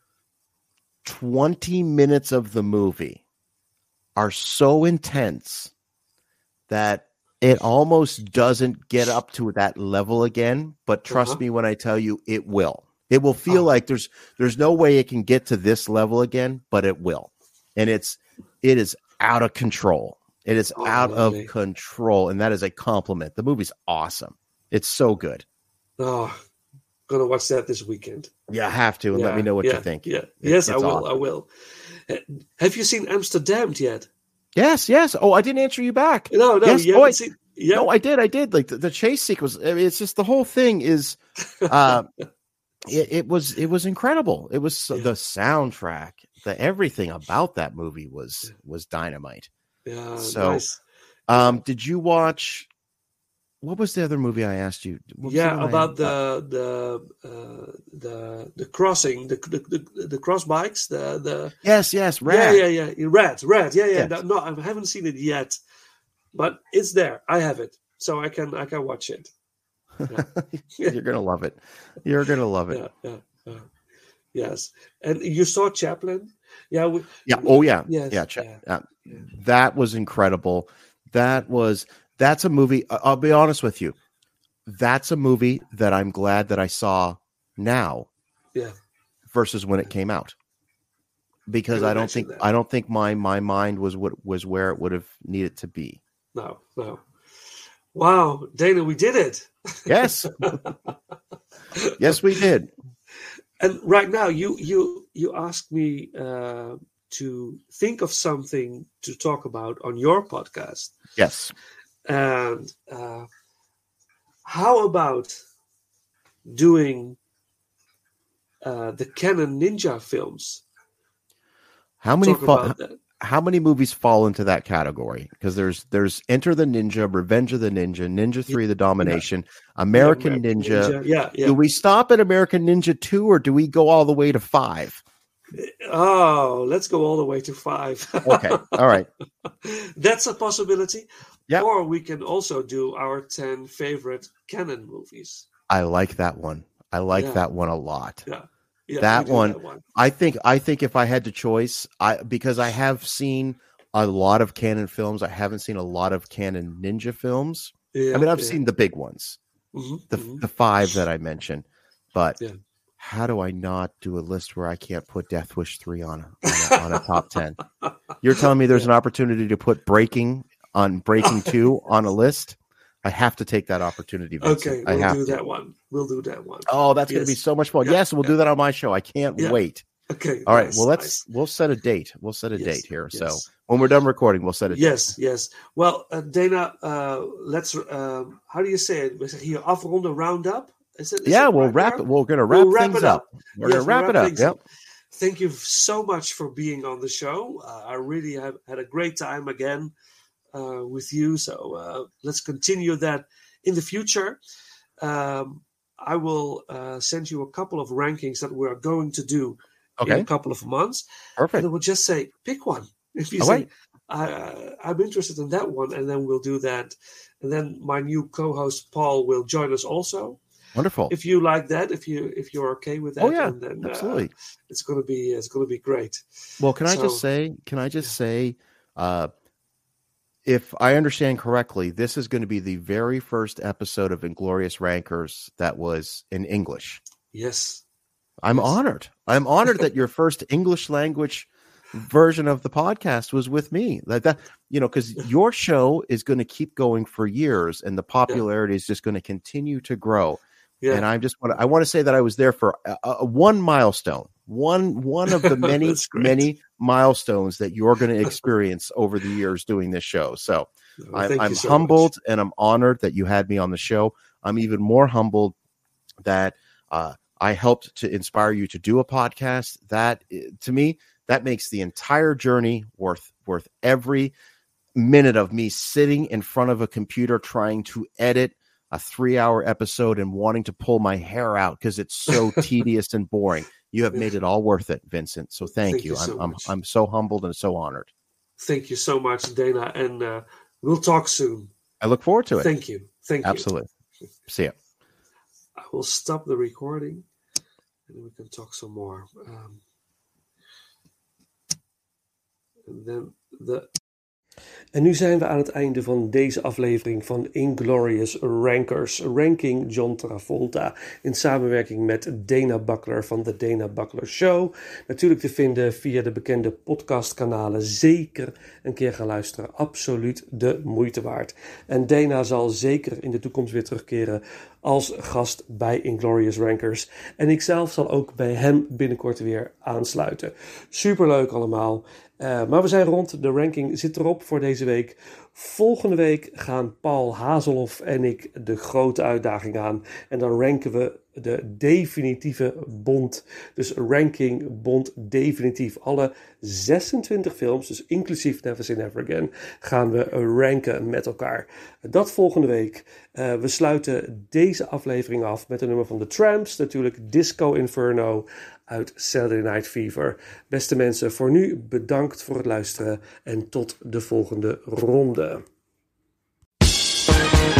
20 minutes of the movie are so intense that it almost doesn't get up to that level again. But trust me when I tell you, it will. It will feel like there's no way it can get to this level again, but it will. And it is out of control. It is out of control, and that is a compliment. The movie's awesome. It's so good. Oh, gonna watch that this weekend. Yeah, I have to, and let me know what you think. Yeah, yes, I will. Awesome. I will. Have you seen Amsterdam yet? Yes. Oh, I didn't answer you back. No, yes. You haven't seen. Yeah. No, I did. Like the chase sequence. I mean, it's just the whole thing is. It was incredible. It was the soundtrack, everything about that movie was dynamite. Yeah. So, nice. Did you watch? What was the other movie I asked you? About the crossing, the cross bikes, the yes, Red. Yeah, Red. Yeah. Yes. No, I haven't seen it yet, but it's there. I have it, so I can watch it. Yeah. You're gonna love it. You're gonna love it. Yeah. Yes, and you saw Chaplin. Yeah. Oh yeah. Yes. Yeah. That was incredible. That's a movie. I'll be honest with you. That's a movie that I'm glad that I saw now. Yeah. Versus when it came out, because I don't think my mind was where it would have needed to be. No. Wow, Dana, we did it. Yes. Yes, we did. And right now, you asked me to think of something to talk about on your podcast. Yes. And how about doing the Canon Ninja films? How many movies fall into that category? Because there's Enter the Ninja, Revenge of the Ninja, Ninja 3: The Domination, American Ninja. Yeah. Do we stop at American Ninja 2 or do we go all the way to 5? Oh, let's go all the way to 5. Okay. All right. That's a possibility. Yep. Or we can also do our 10 favorite Canon movies. I like that one. I like that one a lot. Yeah, that one. I think if I had to choice, because I have seen a lot of Canon films, I haven't seen a lot of Canon Ninja films. Yeah, I mean, I've seen the big ones, the 5 that I mentioned, but how do I not do a list where I can't put Death Wish 3 on a top 10? You're telling me there's an opportunity to put Breaking 2 on a list? I have to take that opportunity, Vincent. Okay, we'll do that one. Oh, that's going to be so much fun. Yes, we'll do that on my show. I can't wait. Okay. All right. Nice, Well, nice. we'll set a date. We'll set a Yes, date here. yes. So when we're done recording, we'll set a date. Yes. Well, Dana, let's. How do you say it? We say here afronden, round up. Is it Yeah, the we'll right wrap term? it. We're going to wrap We'll wrap things it up. We're Yes, going to wrap we'll it up. things Yep. up. Thank you so much for being on the show. I really have had a great time again with you. So let's continue that in the future. I will send you a couple of rankings that we are going to do in Okay. a couple of months. Perfect. And I will just say, pick one. If you All say, right. I'm interested in that one, and then we'll do that. And then my new co-host Paul will join us also. Wonderful. If you like that, if you're okay with that, Oh, yeah, and then, absolutely. it's gonna be great. Well, can I just say, if I understand correctly, this is going to be the very first episode of Inglorious Rankers that was in English. Yes. I'm honored. I'm honored that your first English language version of the podcast was with me. Like that, because your show is going to keep going for years, and the popularity is just going to continue to grow. Yeah. And I want to say that I was there for one milestone, one of the many milestones that you're going to experience over the years doing this show. So I'm so humbled much. And I'm honored that you had me on the show. I'm even more humbled that I helped to inspire you to do a podcast. That, to me, that makes the entire journey worth every minute of me sitting in front of a computer trying to edit a 3-hour episode and wanting to pull my hair out because it's so tedious and boring. You have made it all worth it, Vincent. So thank you. I'm so humbled and so honored. Thank you so much, Dana. And we'll talk soon. I look forward to it. Thank you. Absolutely. See you. I will stop the recording and we can talk some more. En nu zijn we aan het einde van deze aflevering van Inglorious Rankers, Ranking John Travolta, in samenwerking met Dana Buckler van The Dana Buckler Show. Natuurlijk te vinden via de bekende podcastkanalen. Zeker een keer gaan luisteren. Absoluut de moeite waard. En Dana zal zeker in de toekomst weer terugkeren als gast bij Inglorious Rankers. En ik zelf zal ook bij hem binnenkort weer aansluiten. Superleuk allemaal. Maar we zijn rond. De ranking zit erop voor deze week. Volgende week gaan Paul Hazelhoff en ik de grote uitdaging aan. En dan ranken we de definitieve Bond. Dus ranking Bond definitief. Alle 26 films, dus inclusief Never Say Never Again, gaan we ranken met elkaar. Dat volgende week. We sluiten deze aflevering af met een nummer van The Tramps. Natuurlijk Disco Inferno uit Saturday Night Fever. Beste mensen, voor nu bedankt voor het luisteren en tot de volgende ronde.